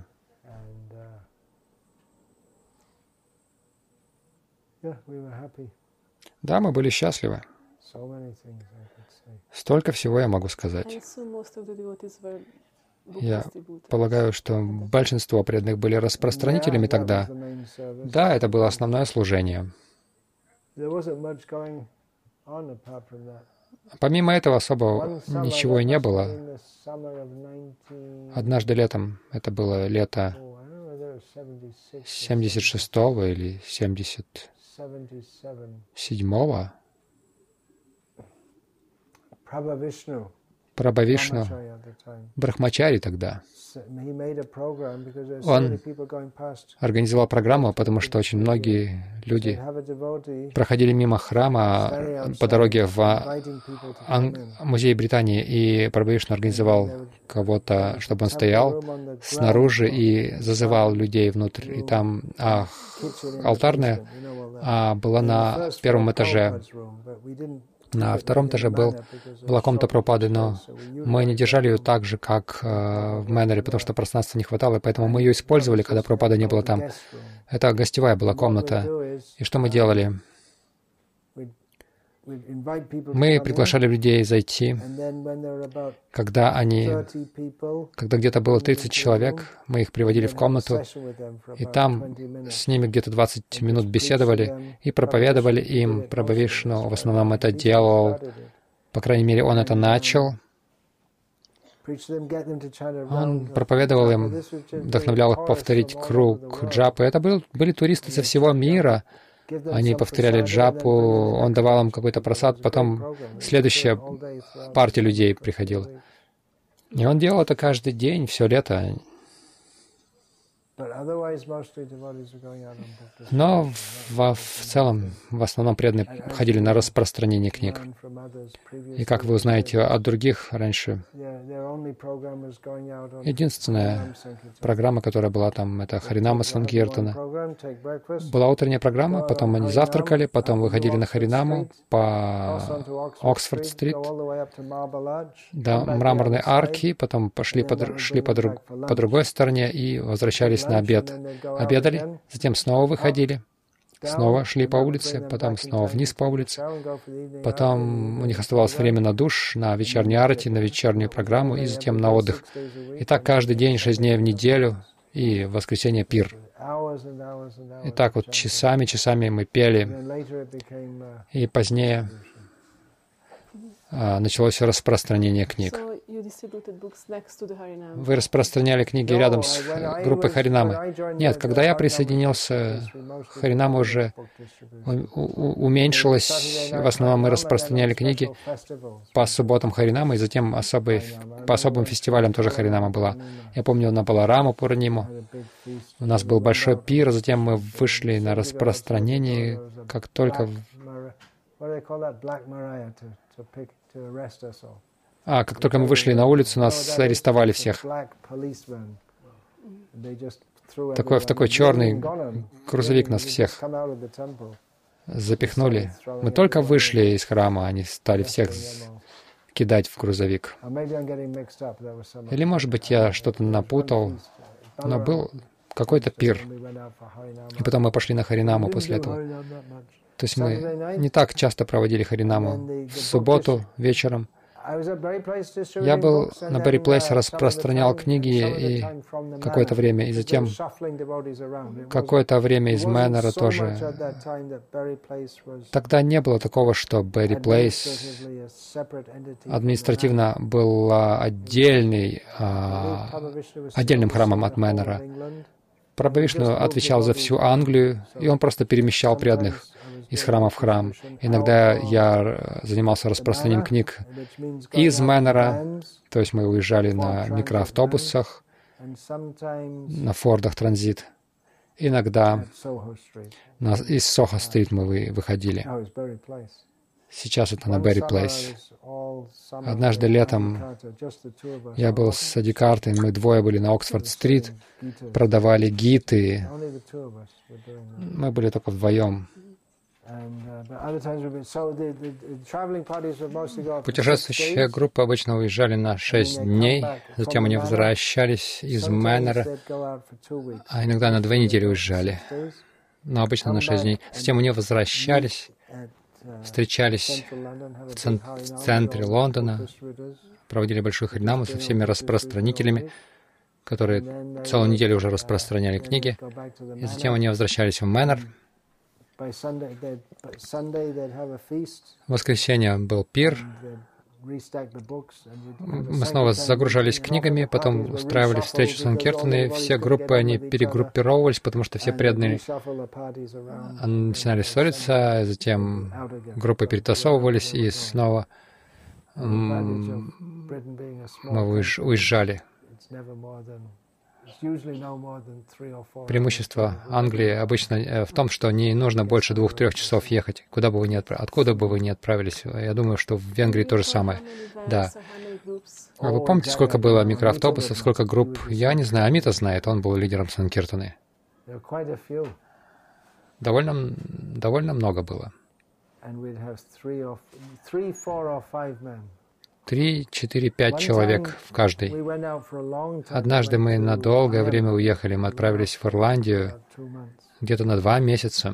Да, мы были счастливы. Столько всего я могу сказать. Я полагаю, что большинство преданных были распространителями тогда. Да, это было основное служение. Помимо этого особо ничего и не было. Однажды летом, это было лето 76-го или 77-го, Прабхавишну, брахмачари тогда. Он организовал программу, потому что очень многие люди проходили мимо храма по дороге в музей Британии, и Прабхавишну организовал кого-то, чтобы он стоял снаружи и зазывал людей внутрь. И там алтарная была на первом этаже. На втором этаже была комната Прабхупады, но мы не держали ее так же, как в Мэннере, потому что пространства не хватало, и поэтому мы ее использовали, когда Прабхупада не было там. Это гостевая была комната. И что мы делали? Мы приглашали людей зайти. Когда где-то было 30 человек, мы их приводили в комнату, и там с ними где-то 20 минут беседовали и проповедовали им. Прабхавишну в основном это делал, по крайней мере, он это начал. Он проповедовал им, вдохновлял их повторить круг джапы. Это были туристы со всего мира. Они повторяли джапу, он давал им какой-то прасад, потом следующая партия людей приходила. И он делал это каждый день, все лето. Но в целом, в основном преданные ходили на распространение книг. И как вы узнаете от других раньше, единственная программа, которая была там, это Харинама Санкиртана. Была утренняя программа, потом они завтракали, потом выходили на Харинаму по Оксфорд-стрит до Мраморной арки, потом шли по другой стороне и возвращались на обед. Обедали, затем снова выходили, снова шли по улице, потом снова вниз по улице, потом у них оставалось время на душ, на вечернюю арати, на вечернюю программу и затем на отдых. И так каждый день, 6 дней в неделю, и в воскресенье пир. И так вот часами мы пели, и позднее началось распространение книг. Вы распространяли книги рядом с группой Харинамы? Нет, когда я присоединился, Харинама уже уменьшилась. В основном мы распространяли книги по субботам Харинамы, и затем по особым фестивалям тоже Харинама была. Я помню, на Балараму Пурниму у нас был большой пир, затем мы вышли на распространение, как только... как только мы вышли на улицу, нас арестовали всех. В такой черный грузовик нас всех запихнули. Мы только вышли из храма, они стали всех кидать в грузовик. Или, может быть, я что-то напутал, но был какой-то пир. И потом мы пошли на Харинаму после этого. То есть мы не так часто проводили Харинаму. В субботу вечером я был на Берри Плейс, распространял книги и какое-то время, и затем какое-то время из Мэннера тоже. Тогда не было такого, что Берри Плейс административно был отдельным храмом от Мэннера. Прабхавишну отвечал за всю Англию, и он просто перемещал преданных из храма в храм. Иногда я занимался распространением книг из Мэннера, то есть мы уезжали на микроавтобусах, на Фордах Транзит. Иногда из Сохо-стрит мы выходили. Сейчас это на Берри Плейс. Однажды летом я был с Адикартой, мы двое были на Оксфорд-стрит, продавали гиты. Мы были только вдвоем. Путешествующие группы обычно уезжали на 6 дней, затем они возвращались из Мэннера, а иногда на 2 недели уезжали, но обычно на 6 дней. Затем они возвращались, встречались в центре Лондона, проводили большую харинаму со всеми распространителями, которые целую неделю уже распространяли книги, и затем они возвращались в Мэннер. В воскресенье был пир. Мы снова загружались книгами, потом устраивали встречу Санкиртаны. Все группы, они перегруппировывались, потому что все преданные начинали ссориться, затем группы перетасовывались, и снова мы уезжали. Преимущество Англии обычно в том, что не нужно больше 2-3 часов ехать, откуда бы вы ни отправились. Я думаю, что в Венгрии то же самое. Да. Вы помните, сколько было микроавтобусов, сколько групп? Я не знаю, Амита знает, он был лидером Санкиртаны. Довольно много было. 3, 4, 5 человек в каждой. Однажды мы на долгое время уехали, мы отправились в Ирландию, где-то на 2 месяца.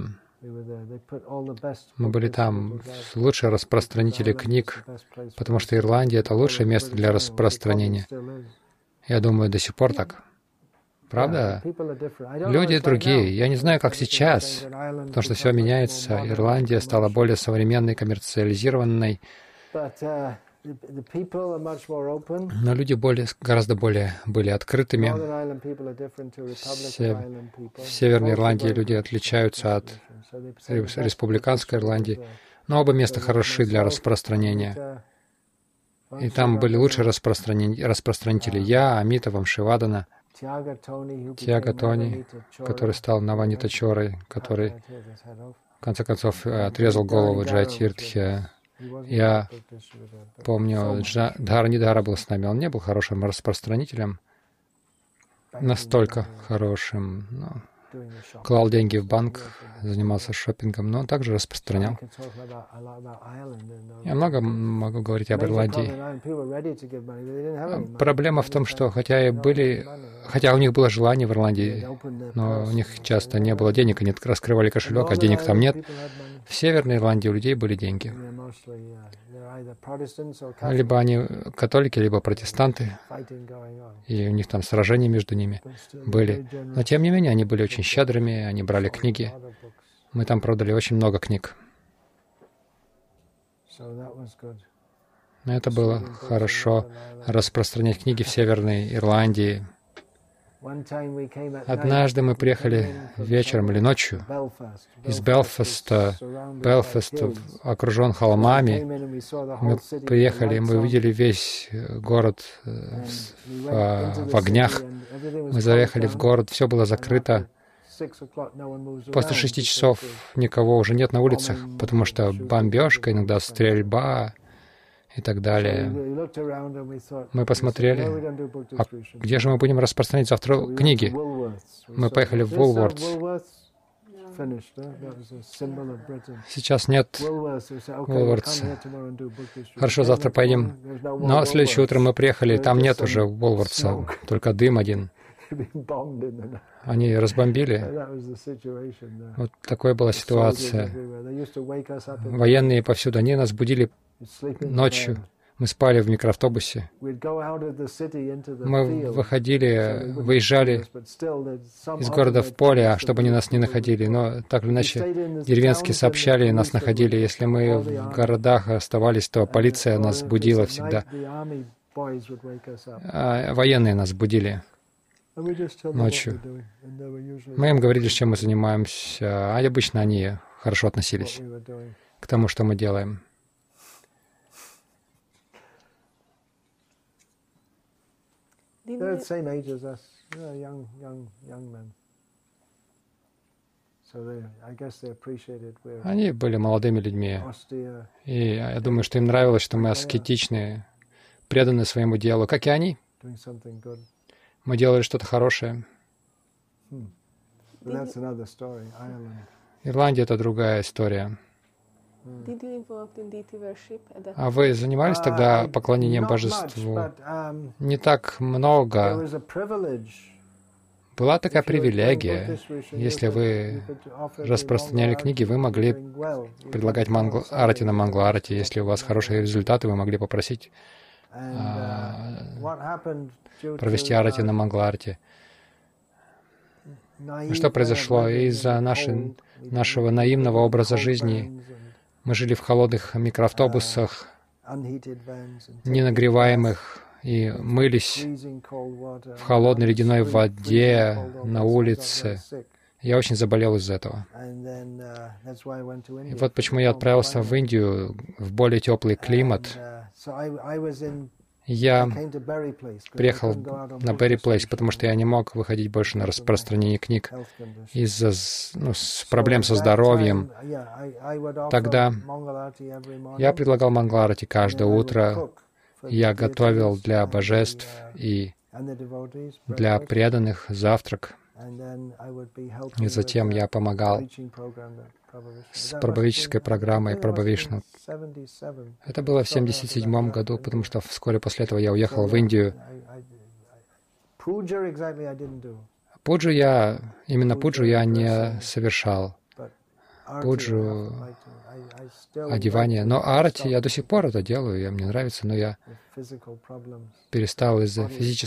Мы были там, лучшие распространители книг, потому что Ирландия — это лучшее место для распространения. Я думаю, до сих пор так. Правда? Люди другие. Я не знаю, как сейчас, потому что все меняется. Ирландия стала более современной, коммерциализированной. Но люди гораздо более были открытыми. В Северной Ирландии люди отличаются от республиканской Ирландии. Но оба места хороши для распространения. И там были лучшие распространители. Я, Амита, Вамшивадана, Тьяга Тони, который стал Наванита Чорой, который, в конце концов, отрезал голову Джайатиртхи. Я помню, Дхаранидхара был с нами. Он не был хорошим распространителем, настолько хорошим. Клал деньги в банк, занимался шопингом, но он также распространял. Я много могу говорить об Ирландии. Проблема в том, что хотя у них было желание в Ирландии, но у них часто не было денег, они раскрывали кошелек, а денег там нет. В Северной Ирландии у людей были деньги. Либо они католики, либо протестанты, и у них там сражения между ними были. Но тем не менее, они были очень щедрыми, они брали книги. Мы там продали очень много книг. Но это было хорошо распространять книги в Северной Ирландии. Однажды мы приехали вечером или ночью из Белфаста. Белфаст окружен холмами. Мы приехали, мы увидели весь город в огнях. Мы заехали в город, все было закрыто. После 6 часов никого уже нет на улицах, потому что бомбежка, иногда стрельба и так далее. Мы посмотрели, а где же мы будем распространять завтра книги? Мы поехали в Woolworths. Сейчас нет Woolworths. Хорошо, завтра поедем. Но следующее утро мы приехали, там нет уже Woolworths, только дым один. Они разбомбили. Вот такой была ситуация. Военные повсюду. Они нас будили ночью. Мы спали в микроавтобусе. Мы выезжали из города в поле, чтобы они нас не находили. Но так или иначе, деревенские сообщали, и нас находили. Если мы в городах оставались, то полиция нас будила всегда. Военные нас будили ночью. Мы им говорили, чем мы занимаемся, а обычно они хорошо относились к тому, что мы делаем. Они были молодыми людьми, и я думаю, что им нравилось, что мы аскетичны, преданы своему делу, как и они. Мы делали что-то хорошее. Ирландия — это другая история. А вы занимались тогда поклонением божеству? Не так много. Была такая привилегия. Если вы распространяли книги, вы могли предлагать арати на Мангла-арати. Если у вас хорошие результаты, вы могли попросить провести арати на Мангла-арати. Что произошло? Из-за нашего наивного образа жизни мы жили в холодных микроавтобусах, ненагреваемых, и мылись в холодной ледяной воде на улице. Я очень заболел из-за этого. И вот почему я отправился в Индию, в более теплый климат. Я приехал на Берри Плейс, потому что я не мог выходить больше на распространение книг из-за проблем со здоровьем. Тогда я предлагал Мангла-арати каждое утро. Я готовил для божеств и для преданных завтрак. И затем я помогал с прабхавической программой Прабхавишну. Это было в 1977 году, потому что вскоре после этого я уехал в Индию. Именно пуджу я не совершал. Пуджу, одевание. Но арати я до сих пор это делаю, мне нравится, но я перестал из-за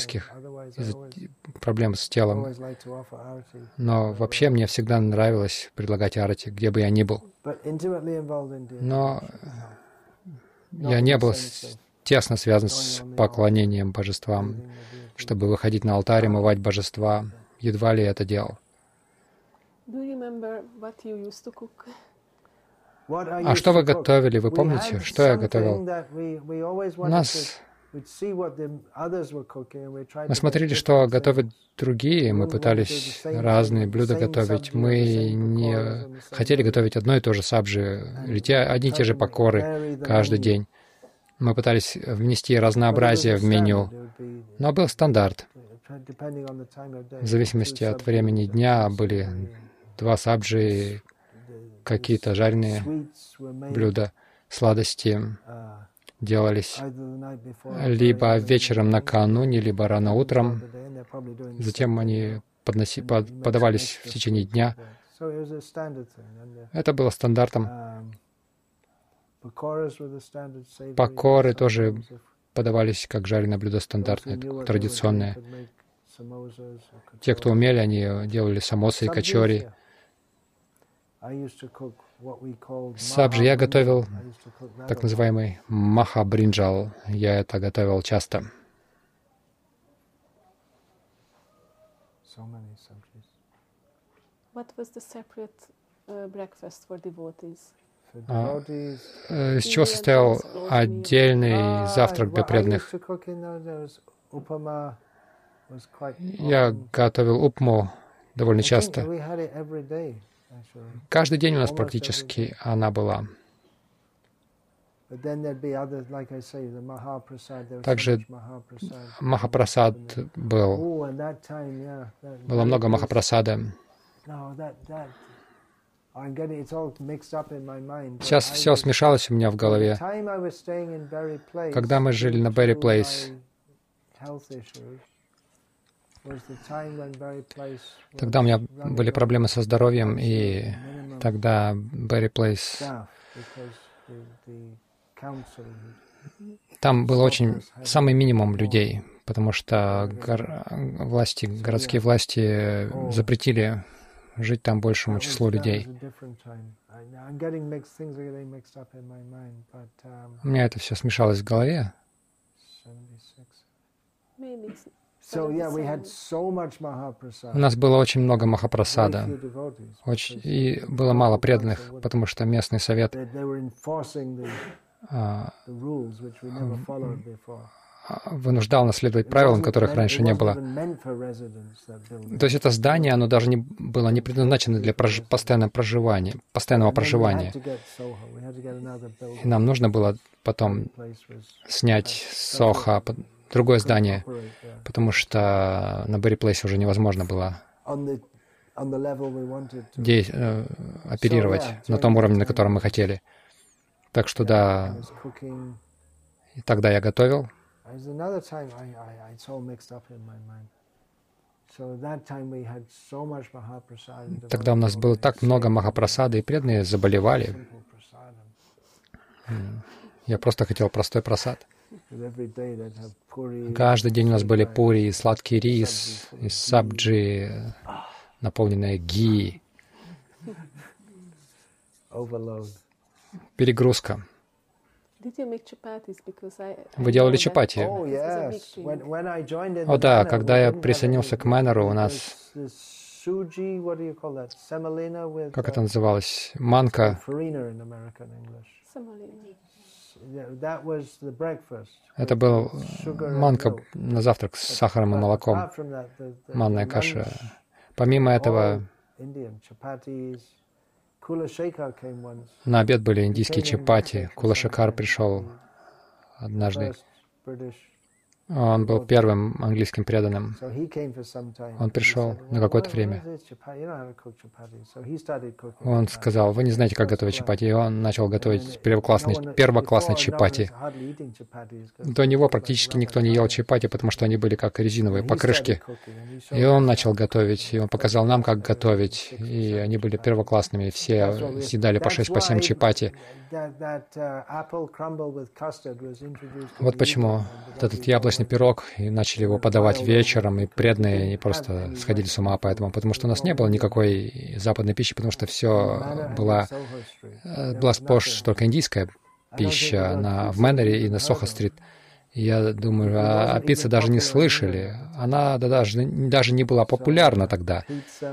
проблем с телом. Но вообще мне всегда нравилось предлагать арати, где бы я ни был. Но я не был тесно связан с поклонением божествам, чтобы выходить на алтарь и мывать божества. Едва ли я это делал. А что вы готовили? Вы помните, что я готовил? Мы смотрели, что готовят другие, мы пытались разные блюда готовить. Мы не хотели готовить одно и то же сабджи, или одни и те же покоры каждый день. Мы пытались внести разнообразие в меню, но был стандарт. В зависимости от времени дня были 2 сабджи, какие-то жареные блюда, сладости делались либо вечером накануне, либо рано утром. Затем они подавались в течение дня. Это было стандартом. Покоры тоже подавались как жареное блюдо стандартное, традиционное. Те, кто умели, они делали самосы и качори. Сабджи я готовил так называемый махабринджал. Я это готовил часто. Из чего состоял отдельный завтрак для преданных? Я готовил упму довольно часто. Каждый день у нас практически она была. Также махапрасад был. Было много махапрасада. Сейчас все смешалось у меня в голове. Когда мы жили на Берри Плейс, тогда у меня были проблемы со здоровьем, и тогда Берри Плейс, там было очень самый минимум людей, потому что городские власти запретили жить там большему числу людей. У меня это все смешалось в голове. У нас было очень много махапрасада, и было мало преданных, потому что местный совет вынуждал нас следовать правилам, которых раньше не было. То есть это здание, оно даже было не предназначено для постоянного проживания. И нам нужно было потом снять Сохо, другое здание, потому что на Берри Плейсе уже невозможно было оперировать на том уровне, на котором мы хотели. Так что да, и тогда я готовил. Тогда у нас было так много махапрасада, и преданные заболевали. Я просто хотел простой прасад. Каждый день у нас были пури, сладкий рис, и сабджи, наполненная ги. Перегрузка. Вы делали чапати? О да, когда я присоединился к Мэннеру, у нас, как это называлось, манка. Это был манка на завтрак с сахаром и молоком, манная каша. Помимо этого, на обед были индийские чапати. Кула-Шекар пришел однажды. Он был первым английским преданным. Он пришел на какое-то время. Он сказал: вы не знаете, как готовить чапати. И он начал готовить первоклассные чапати. До него практически никто не ел чапати, потому что они были как резиновые покрышки. И он начал готовить, и он показал нам, как готовить. И они были первоклассными. Все съедали по 6-7 чапати. Вот почему этот яблочный пирог, и начали его подавать вечером, и преданные они просто сходили с ума поэтому, потому что у нас не было никакой западной пищи, потому что все была сплошь только индийская пища в Мэннере и на Сохо-стрит. Я думаю, о пицце даже не слышали. Она даже не была популярна тогда.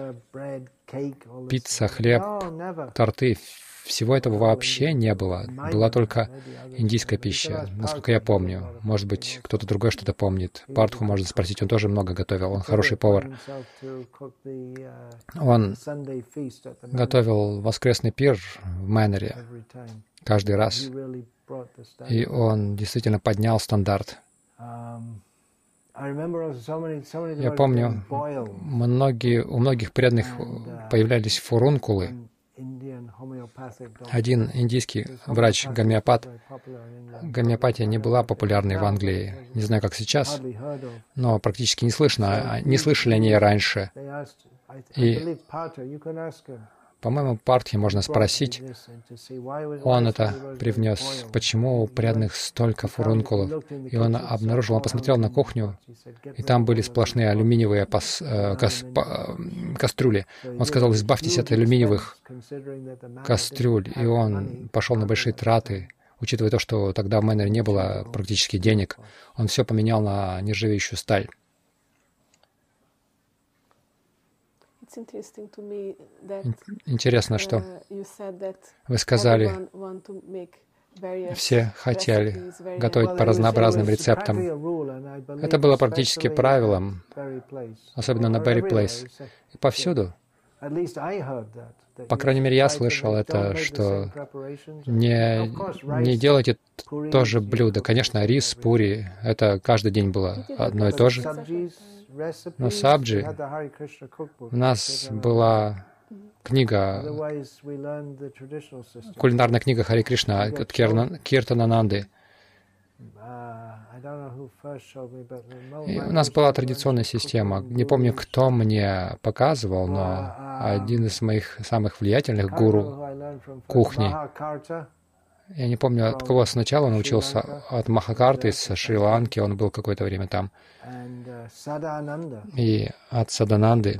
Пицца, хлеб, торты — всего этого вообще не было. Была только индийская пища, насколько я помню. Может быть, кто-то другой что-то помнит. Партху можно спросить, он тоже много готовил, он хороший повар. Он готовил воскресный пир в Мэннере каждый раз. И он действительно поднял стандарт. Я помню, у многих преданных появлялись фурункулы. Один индийский врач-гомеопат. Гомеопатия не была популярной в Англии. Не знаю, как сейчас, но практически не слышали о ней раньше. И По-моему, Партхи можно спросить, он это привнес, почему у преданных столько фурункулов. И он обнаружил, он посмотрел на кухню, и там были сплошные алюминиевые кастрюли. Он сказал, избавьтесь от алюминиевых кастрюль. И он пошел на большие траты, учитывая то, что тогда в Мэннере не было практически денег. Он все поменял на нержавеющую сталь. Интересно, что вы сказали, все хотели готовить по разнообразным рецептам. Это было практически правилом, особенно на Berry Place. И повсюду. По крайней мере, я слышал это, что не делайте то же блюдо. Конечно, рис, пури, это каждый день было одно и то же. Но сабджи, у нас была книга, кулинарная книга Хари Кришна от Киртанананды. И у нас была традиционная система. Не помню, кто мне показывал, но один из моих самых влиятельных гуру кухни. Я не помню, от кого сначала научился. От Махакарты из Шри-Ланки, он был какое-то время там. И от Садананды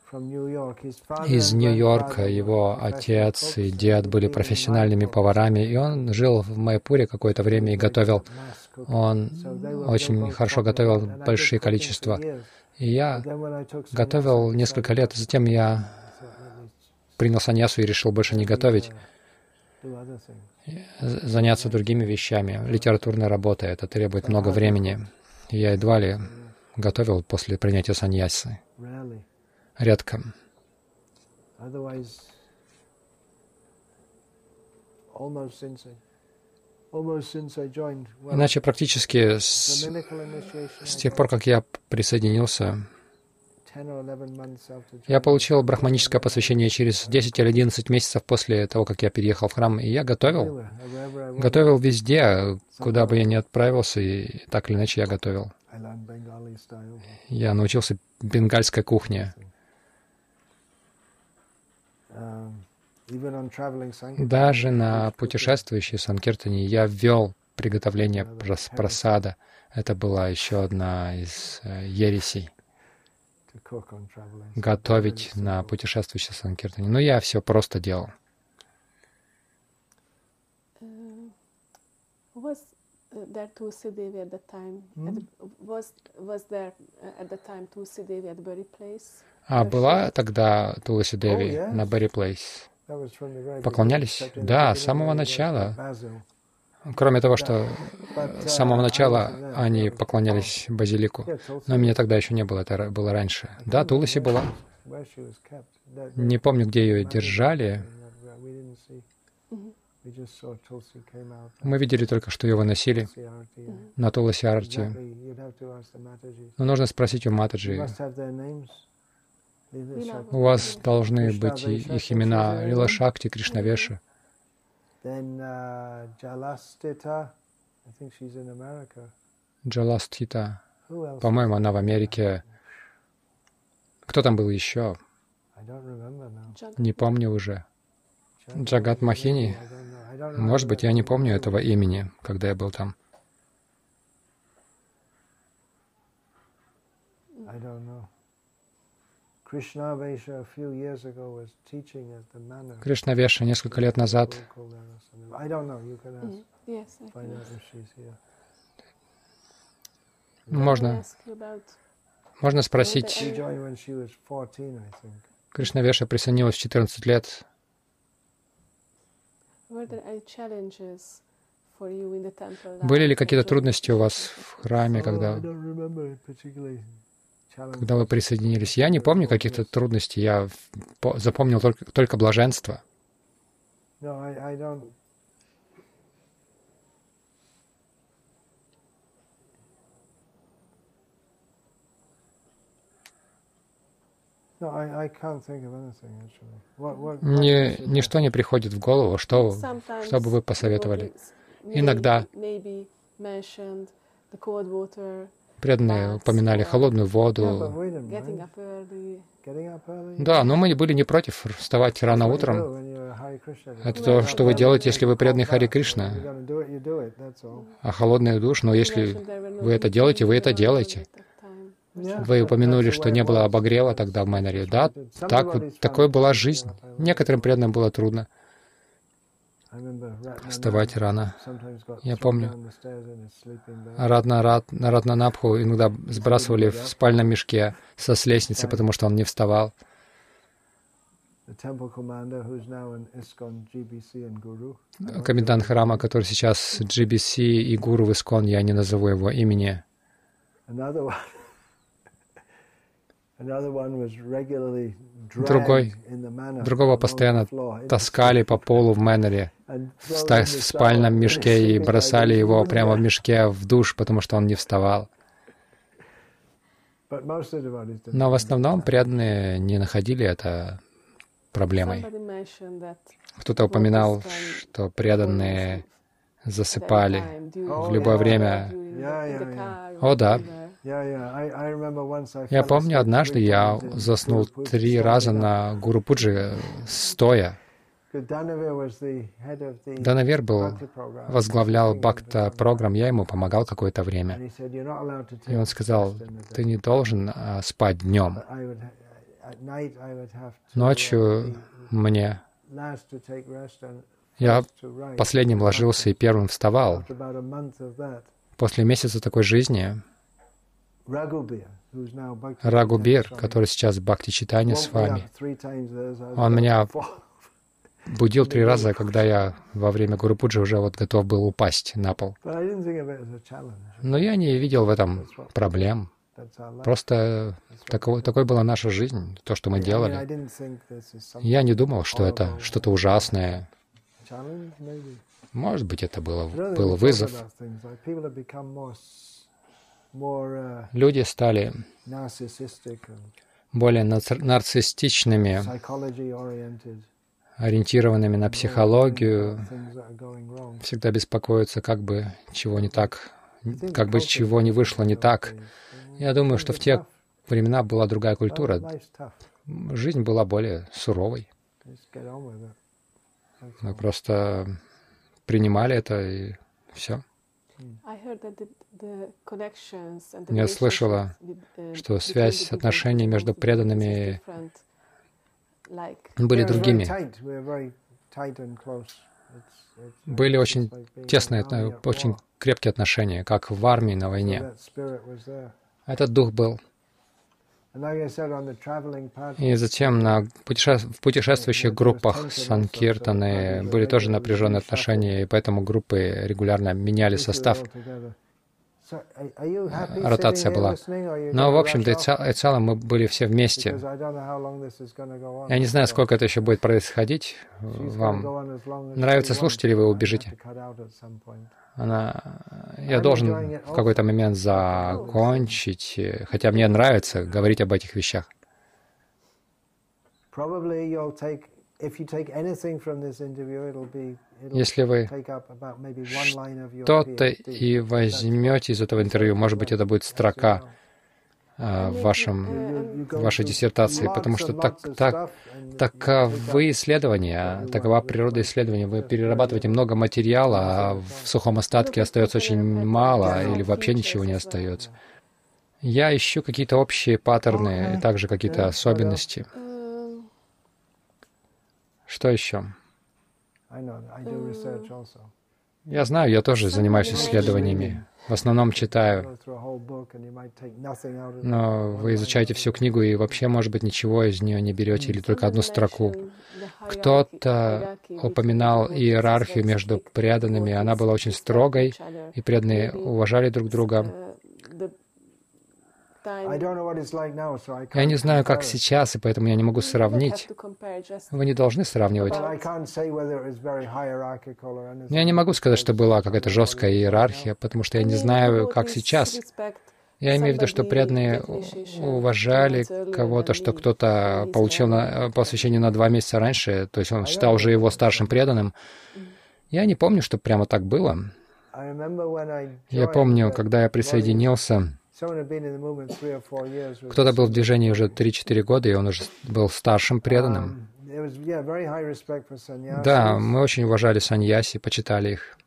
из Нью-Йорка. Его отец и дед были профессиональными поварами, и он жил в Майпуре какое-то время и готовил. Он очень хорошо готовил большие количества. И я готовил несколько лет, затем я принял саньясу и решил больше не готовить, заняться другими вещами. Литературная работа, это требует много времени. Я едва ли готовил после принятия саньясы. Редко. Иначе практически с тех пор, как я присоединился, я получил брахманическое посвящение через 10 или 11 месяцев после того, как я переехал в храм, и я готовил. Готовил везде, куда бы я ни отправился, и так или иначе я готовил. Я научился бенгальской кухне. Даже на путешествующей санкиртане я ввел приготовление прасада. Это была еще одна из ересей. Готовить на путешествующей санкиртане. Но я все просто делал. А была тогда Туласи Деви на Berry Place? Поклонялись? Да, с самого начала. Кроме того, что с самого начала они поклонялись базилику. Но меня тогда еще не было, это было раньше. Да, Туласи была. Не помню, где ее держали. Мы видели только, что ее выносили на Туласи Арти. Но нужно спросить у Матаджи. У вас должны быть их имена Лила Шакти, Кришнавеша. Джаластхита. По-моему, она в Америке. Кто там был еще? Не помню уже. Джагат Махини? Может быть, я не помню этого имени, когда я был там. Кришнавеша несколько лет назад. Можно спросить. Кришнавеша присоединилась в 14 лет. Были ли какие-то трудности у вас в храме, когда вы присоединились? Я не помню каких-то трудностей, я запомнил только блаженство. Ничто не приходит в голову, что бы вы посоветовали. Иногда Преданные упоминали холодную воду. Да, но мы были не против вставать рано утром. Это то, что вы делаете, если вы преданный Хари Кришна. А холодный душ, но если вы это делаете, вы это делаете. Вы упомянули, что не было обогрева тогда в Майнаре. Да, такой была жизнь. Некоторым преданным было трудно вставать рано. Я помню, Ратнанабху иногда сбрасывали в спальном мешке с лестницы, потому что он не вставал. Комендант храма, который сейчас GBC и гуру в Искон, я не назову его имени. Другого постоянно таскали по полу в Мэннере, в спальном мешке, и бросали его прямо в мешке в душ, потому что он не вставал. Но в основном преданные не находили это проблемой. Кто-то упоминал, что преданные засыпали в любое время. О, да. Я помню, однажды я заснул 3 раза на Гуру Пуджи стоя. Данавир возглавлял Бхакта программ, я ему помогал какое-то время. И он сказал, ты не должен спать днем. Ночью я последним ложился и первым вставал. После месяца такой жизни Рагубир, который сейчас в Бхакти-читании с вами, он меня будил 3 раза, когда я во время Гуру-пуджи уже готов был упасть на пол. Но я не видел в этом проблем. Просто такой была наша жизнь, то, что мы делали. Я не думал, что это что-то ужасное. Может быть, это был вызов. Люди стали более нарциссичными, ориентированными на психологию, всегда беспокоятся, как бы чего не так, как бы чего не вышло не так. Я думаю, что в те времена была другая культура. Жизнь была более суровой. Мы просто принимали это, и все. Я слышала, что связь, отношения между преданными были другими. Были очень тесные, очень крепкие отношения, как в армии на войне. Этот дух был. И затем в путешествующих группах Санкиртаны были тоже напряженные отношения, и поэтому группы регулярно меняли состав. Ротация была. Но, в общем-то, и целом мы были все вместе. Я не знаю, сколько это еще будет происходить. Вам нравится слушать или вы убежите? Я должен в какой-то момент закончить, хотя мне нравится говорить об этих вещах. Если вы что-то и возьмете из этого интервью, может быть, это будет строка в вашей диссертации, потому что таковы исследования, такова природа исследования. Вы перерабатываете много материала, а в сухом остатке остается очень мало или вообще ничего не остается. Я ищу какие-то общие паттерны и также какие-то особенности. Что еще? Я знаю, я тоже занимаюсь исследованиями. В основном читаю. Но вы изучаете всю книгу и вообще, может быть, ничего из нее не берете или только одну строку. Кто-то упоминал иерархию между преданными. Она была очень строгой, и преданные уважали друг друга. Я не знаю, как сейчас, и поэтому я не могу сравнить. Вы не должны сравнивать. Я не могу сказать, что была какая-то жесткая иерархия, потому что я не знаю, как сейчас. Я имею в виду, что преданные уважали кого-то, что кто-то получил посвящение на 2 месяца раньше, то есть он считал уже его старшим преданным. Я не помню, что прямо так было. Я помню, когда я присоединился Кто-то был в движении уже 3-4 года, и он уже был старшим преданным. Да, мы очень уважали саньяси, почитали их.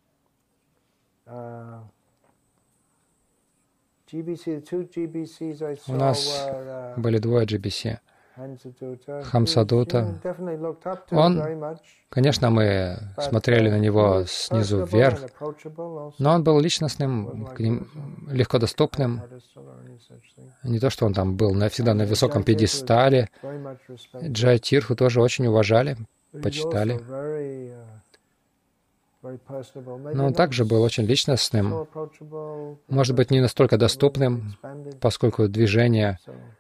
У нас были 2 GBC. Хамсадута. Конечно, мы смотрели на него снизу вверх, но он был личностным, к ним легко доступным. Не то, что он там был навсегда на высоком пьедестале. Джайатирху тоже очень уважали, почитали. Но он также был очень личностным, может быть, не настолько доступным, поскольку движение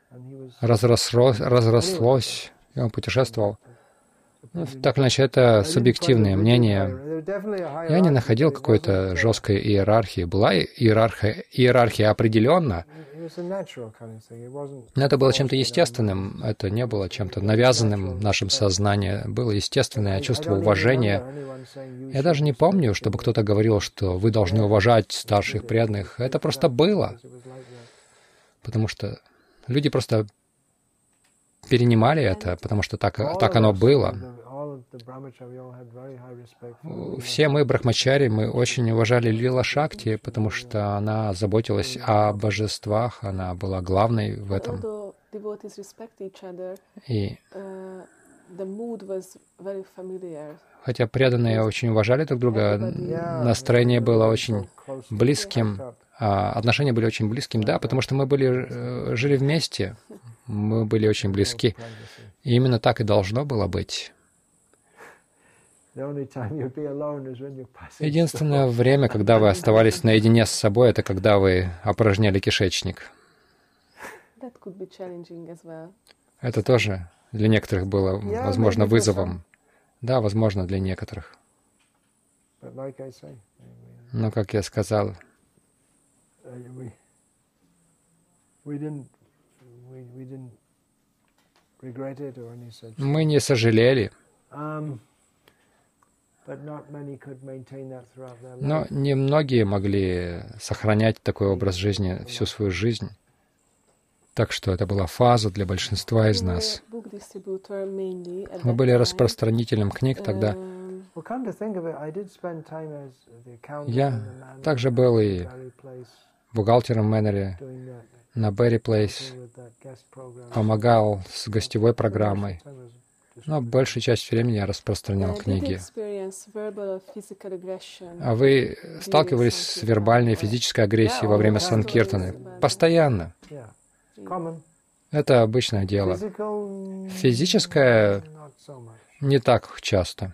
разрослось, и он путешествовал. Ну, так или иначе, это субъективное мнение. Я не находил какой-то жесткой иерархии. Была иерархия определенно, но это было чем-то естественным, это не было чем-то навязанным в нашем сознании. Было естественное чувство уважения. Я даже не помню, чтобы кто-то говорил, что вы должны уважать старших преданных. Это просто было. Потому что люди просто перенимали это, потому что так оно было. Все мы, брахмачари, мы очень уважали Лила Шакти, потому что она заботилась о божествах, она была главной в этом. И хотя преданные очень уважали друг друга, настроение было очень близким, отношения были очень близким, да, потому что мы жили вместе, мы были очень близки. И именно так и должно было быть. Единственное время, когда вы оставались наедине с собой, это когда вы опорожняли кишечник. Это тоже для некоторых было, возможно, вызовом. Да, возможно, для некоторых. Но, как я сказал, мы не сожалели. Но немногие могли сохранять такой образ жизни всю свою жизнь. Так что это была фаза для большинства из нас. Мы были распространителем книг тогда. Я также был и бухгалтером в Мэннере, на Берри Плейс, помогал с гостевой программой. Но большую часть времени я распространял книги. А вы сталкивались с вербальной и физической агрессией во время санкиртаны? Постоянно. Это обычное дело. Физическое не так часто.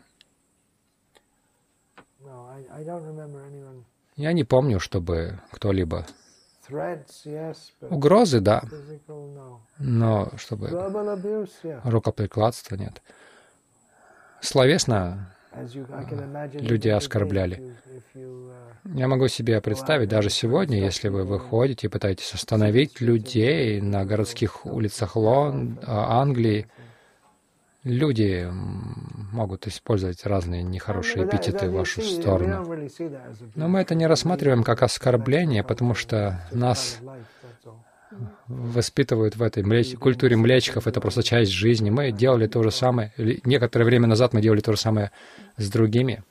Я не помню, чтобы кто-либо... Угрозы, да, но чтобы рукоприкладства нет. Словесно люди оскорбляли. Я могу себе представить, даже сегодня, если вы выходите и пытаетесь остановить людей на городских улицах Англии, люди могут использовать разные нехорошие эпитеты в вашу сторону. Но мы это не рассматриваем как оскорбление, потому что нас воспитывают в этой культуре млечков, это просто часть жизни. Мы делали то же самое, некоторое время назад мы делали то же самое с другими.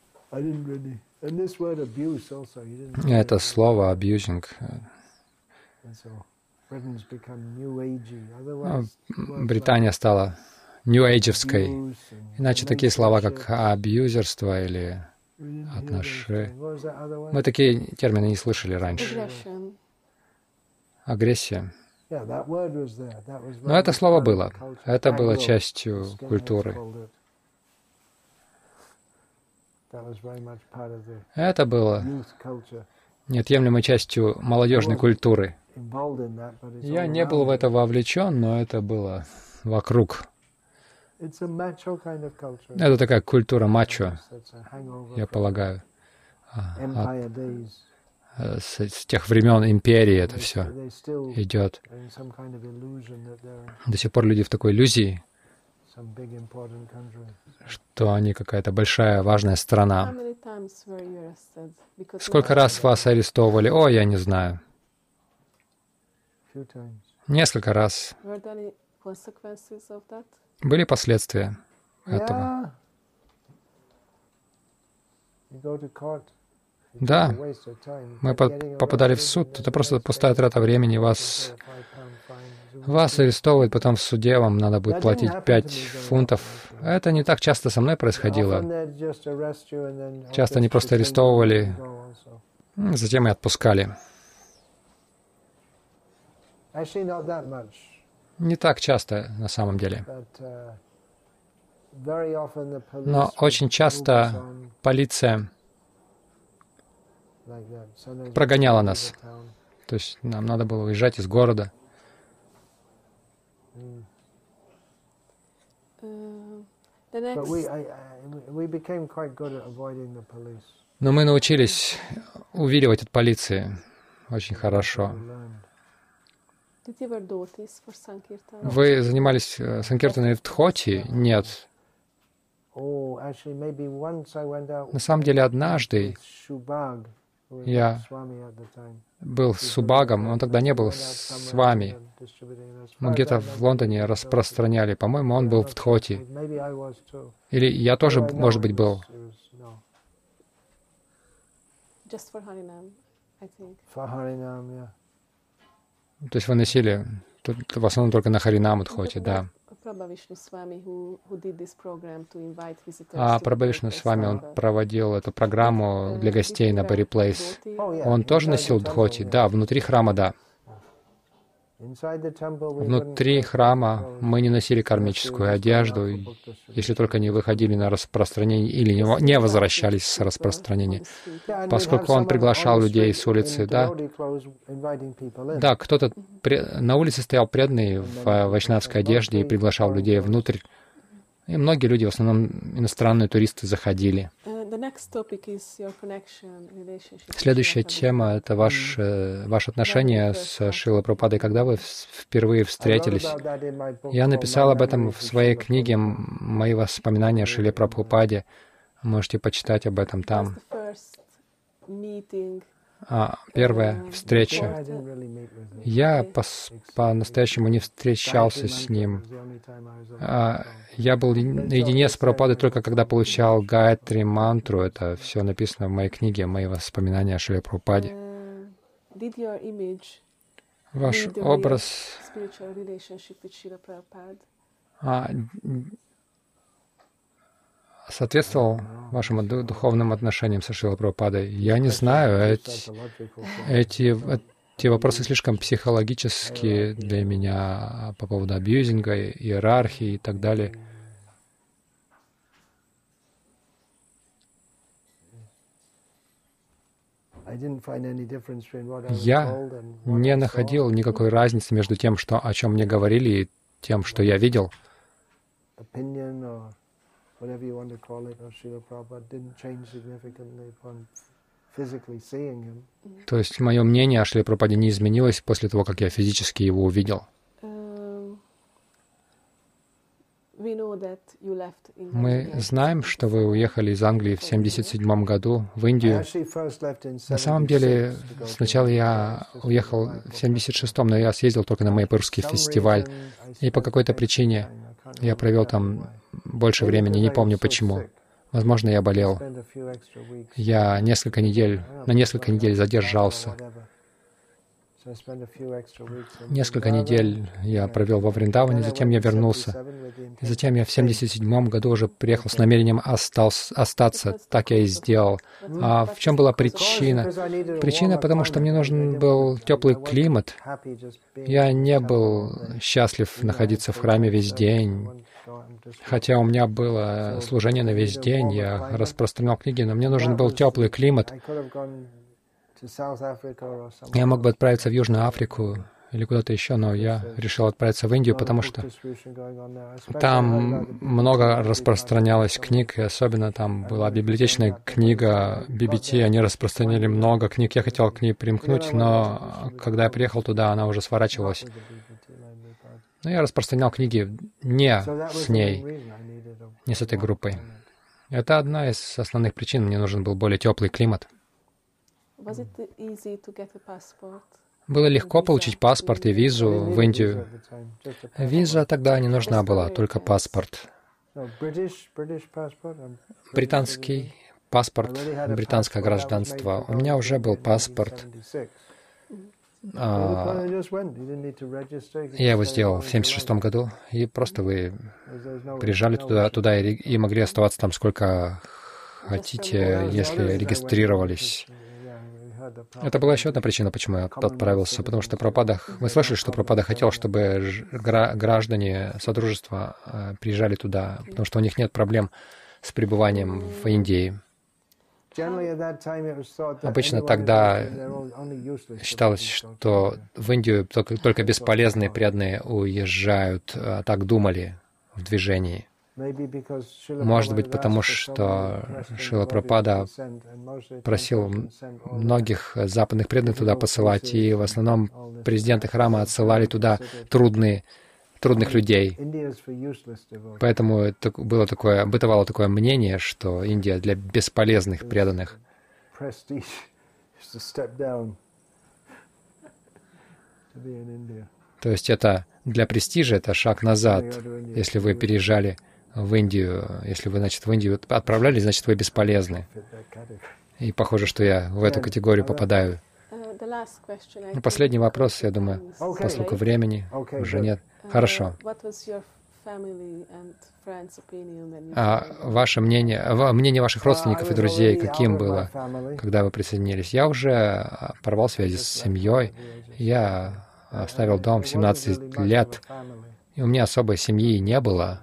Это слово «abusing». Британия стала нью-эйджевской. Иначе такие слова, как абьюзерство или отношения. Мы такие термины не слышали раньше. Агрессия. Но это слово было. Это было частью культуры. Это было неотъемлемой частью молодежной культуры. Я не был в это вовлечен, но это было вокруг. Это такая культура мачо, я полагаю. С тех времен империи это все идет. До сих пор люди в такой иллюзии, что они какая-то большая, важная страна. Сколько раз вас арестовывали? О, я не знаю. Несколько раз. Были последствия этого? Да, мы попадали в суд. Это просто пустая трата времени. Вас арестовывают, потом в суде вам надо будет платить 5 фунтов. Это не так часто со мной происходило. Часто они просто арестовывали, затем и отпускали. Не так часто на самом деле. Но очень часто полиция прогоняла нас. То есть нам надо было уезжать из города. Но мы научились увиливать от полиции очень хорошо. Вы занимались санкиртаной в Дхоти? Нет. На самом деле, однажды я был с Субагом, он тогда не был с вами. Мы где-то в Лондоне распространяли. По-моему, он был в Дхоти. Или я тоже, может быть, был. То есть вы носили в основном только на Харинам Дхоти, да. А Прабхавишну с вами, он проводил эту программу для гостей на Барри Плейс. Он тоже носил Дхоти? Да, внутри храма, да. Внутри храма мы не носили кармическую одежду, если только не выходили на распространение или не возвращались с распространения. Поскольку он приглашал людей с улицы, да. Да, кто-то на улице стоял преданный в вайшнавской одежде и приглашал людей внутрь. И многие люди, в основном иностранные туристы, заходили. Следующая тема — это ваше отношение с Шрилой Прабхупадой. Когда вы впервые встретились? Я написал об этом в своей книге «Мои воспоминания о Шриле Прабхупаде». Можете почитать об этом там. Первая встреча. Я по-настоящему не встречался с ним. Я был наедине с Прабхупадой только когда получал Гайатри мантру. Это все написано в моей книге «Мои воспоминания о Шриле Прабхупаде». Ваш образ соответствовал вашим духовным отношениям со Шрилой Прабхупадой? Я не знаю. Эти вопросы слишком психологические для меня по поводу абьюзинга, иерархии и так далее. Я не находил никакой разницы между тем, о чем мне говорили, и тем, что я видел. То есть мое мнение о Шриле Прабхупаде не изменилось после того, как я физически его увидел. Мы знаем, что вы уехали из Англии в 1977 году в Индию. На самом деле, сначала я уехал в 1976, но я съездил только на Майпурский фестиваль. И по какой-то причине я провел там больше времени, не помню почему. Возможно, я болел. Я на несколько недель задержался. Несколько недель я провел во Вриндаване, затем я вернулся. И затем я в 1977 году уже приехал с намерением остаться. Так я и сделал. А в чем была причина? Причина, потому что мне нужен был теплый климат. Я не был счастлив находиться в храме весь день. Хотя у меня было служение на весь день, я распространял книги, но мне нужен был теплый климат. Я мог бы отправиться в Южную Африку или куда-то еще, но я решил отправиться в Индию, потому что там много распространялось книг, и особенно там была библиотечная книга BBT, они распространили много книг. Я хотел к ней примкнуть, но когда я приехал туда, она уже сворачивалась. Но я распространял книги не с ней, не с этой группой. Это одна из основных причин. Мне нужен был более теплый климат. Было легко получить паспорт и визу в Индию. Виза тогда не нужна была, только паспорт. Британский паспорт, британское гражданство. У меня уже был паспорт. Я его сделал в 1976 году, и просто вы приезжали туда и могли оставаться там сколько хотите, если регистрировались. Это была еще одна причина, почему я отправился, потому что Прабхупада, вы слышали, что Прабхупада хотел, чтобы граждане Содружества приезжали туда, потому что у них нет проблем с пребыванием в Индии. Обычно тогда считалось, что в Индию только бесполезные преданные уезжают, так думали в движении. Может быть, потому что Шрила Прабхупада просил многих западных преданных туда посылать, и в основном президенты храма отсылали туда трудных людей. Поэтому это бытовало такое мнение, что Индия для бесполезных преданных. То есть это для престижа, это шаг назад, если вы переезжали в Индию. Если вы, значит, в Индию отправлялись, значит, вы бесполезны. И похоже, что я в эту категорию попадаю. Последний вопрос, я думаю, поскольку времени уже нет. Хорошо. А ваше мнение ваших родственников и друзей, каким было, когда вы присоединились? Я уже порвал связи с семьей. Я оставил дом в 17 лет, и у меня особой семьи не было.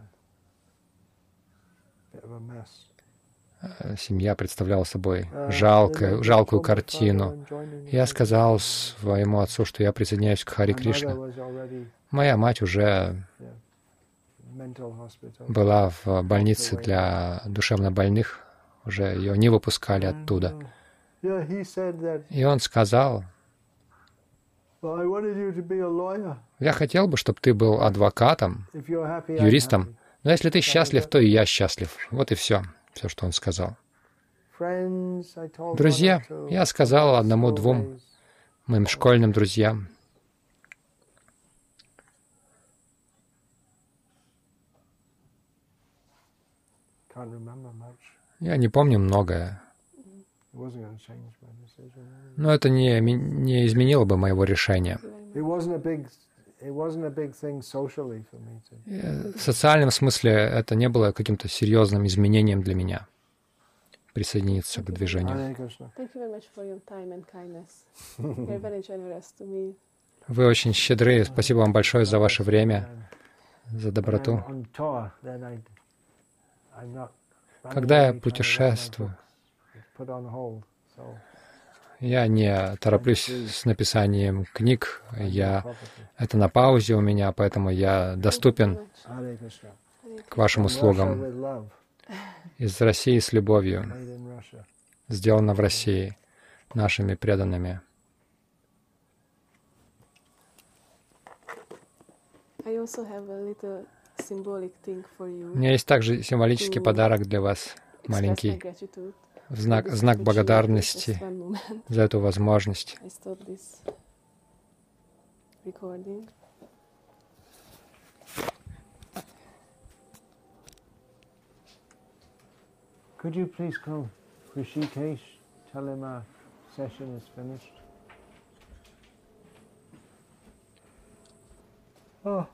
Семья представляла собой жалкую картину. Я сказал своему отцу, что я присоединяюсь к Хари Кришна. Моя мать уже была в больнице для душевнобольных, уже ее не выпускали оттуда. И он сказал: «Я хотел бы, чтобы ты был адвокатом, юристом, но если ты счастлив, то и я счастлив». Вот и все, что он сказал. Друзья, я сказал одному-двум моим школьным друзьям. Я не помню многое. Но это не изменило бы моего решения. В социальном смысле это не было каким-то серьезным изменением для меня присоединиться к движению. Вы очень щедры. Спасибо вам большое за ваше время, за доброту. Когда я путешествую, я не тороплюсь с написанием книг, это на паузе у меня, поэтому я доступен к вашим услугам. Из России с любовью, сделано в России, нашими преданными. У меня есть также символический подарок для вас, маленький, в знак благодарности за эту возможность. Could you please call Rishikesh, tell him our session is finished? Oh.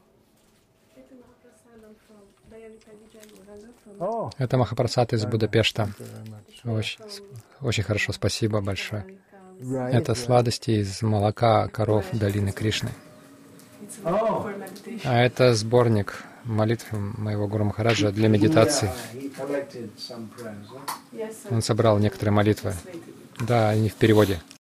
Это Махапрасад из Будапешта. Очень хорошо, спасибо большое. Это сладости из молока коров долины Кришны. А это сборник молитв моего Гуру Махараджа для медитации. Он собрал некоторые молитвы. Да, они в переводе.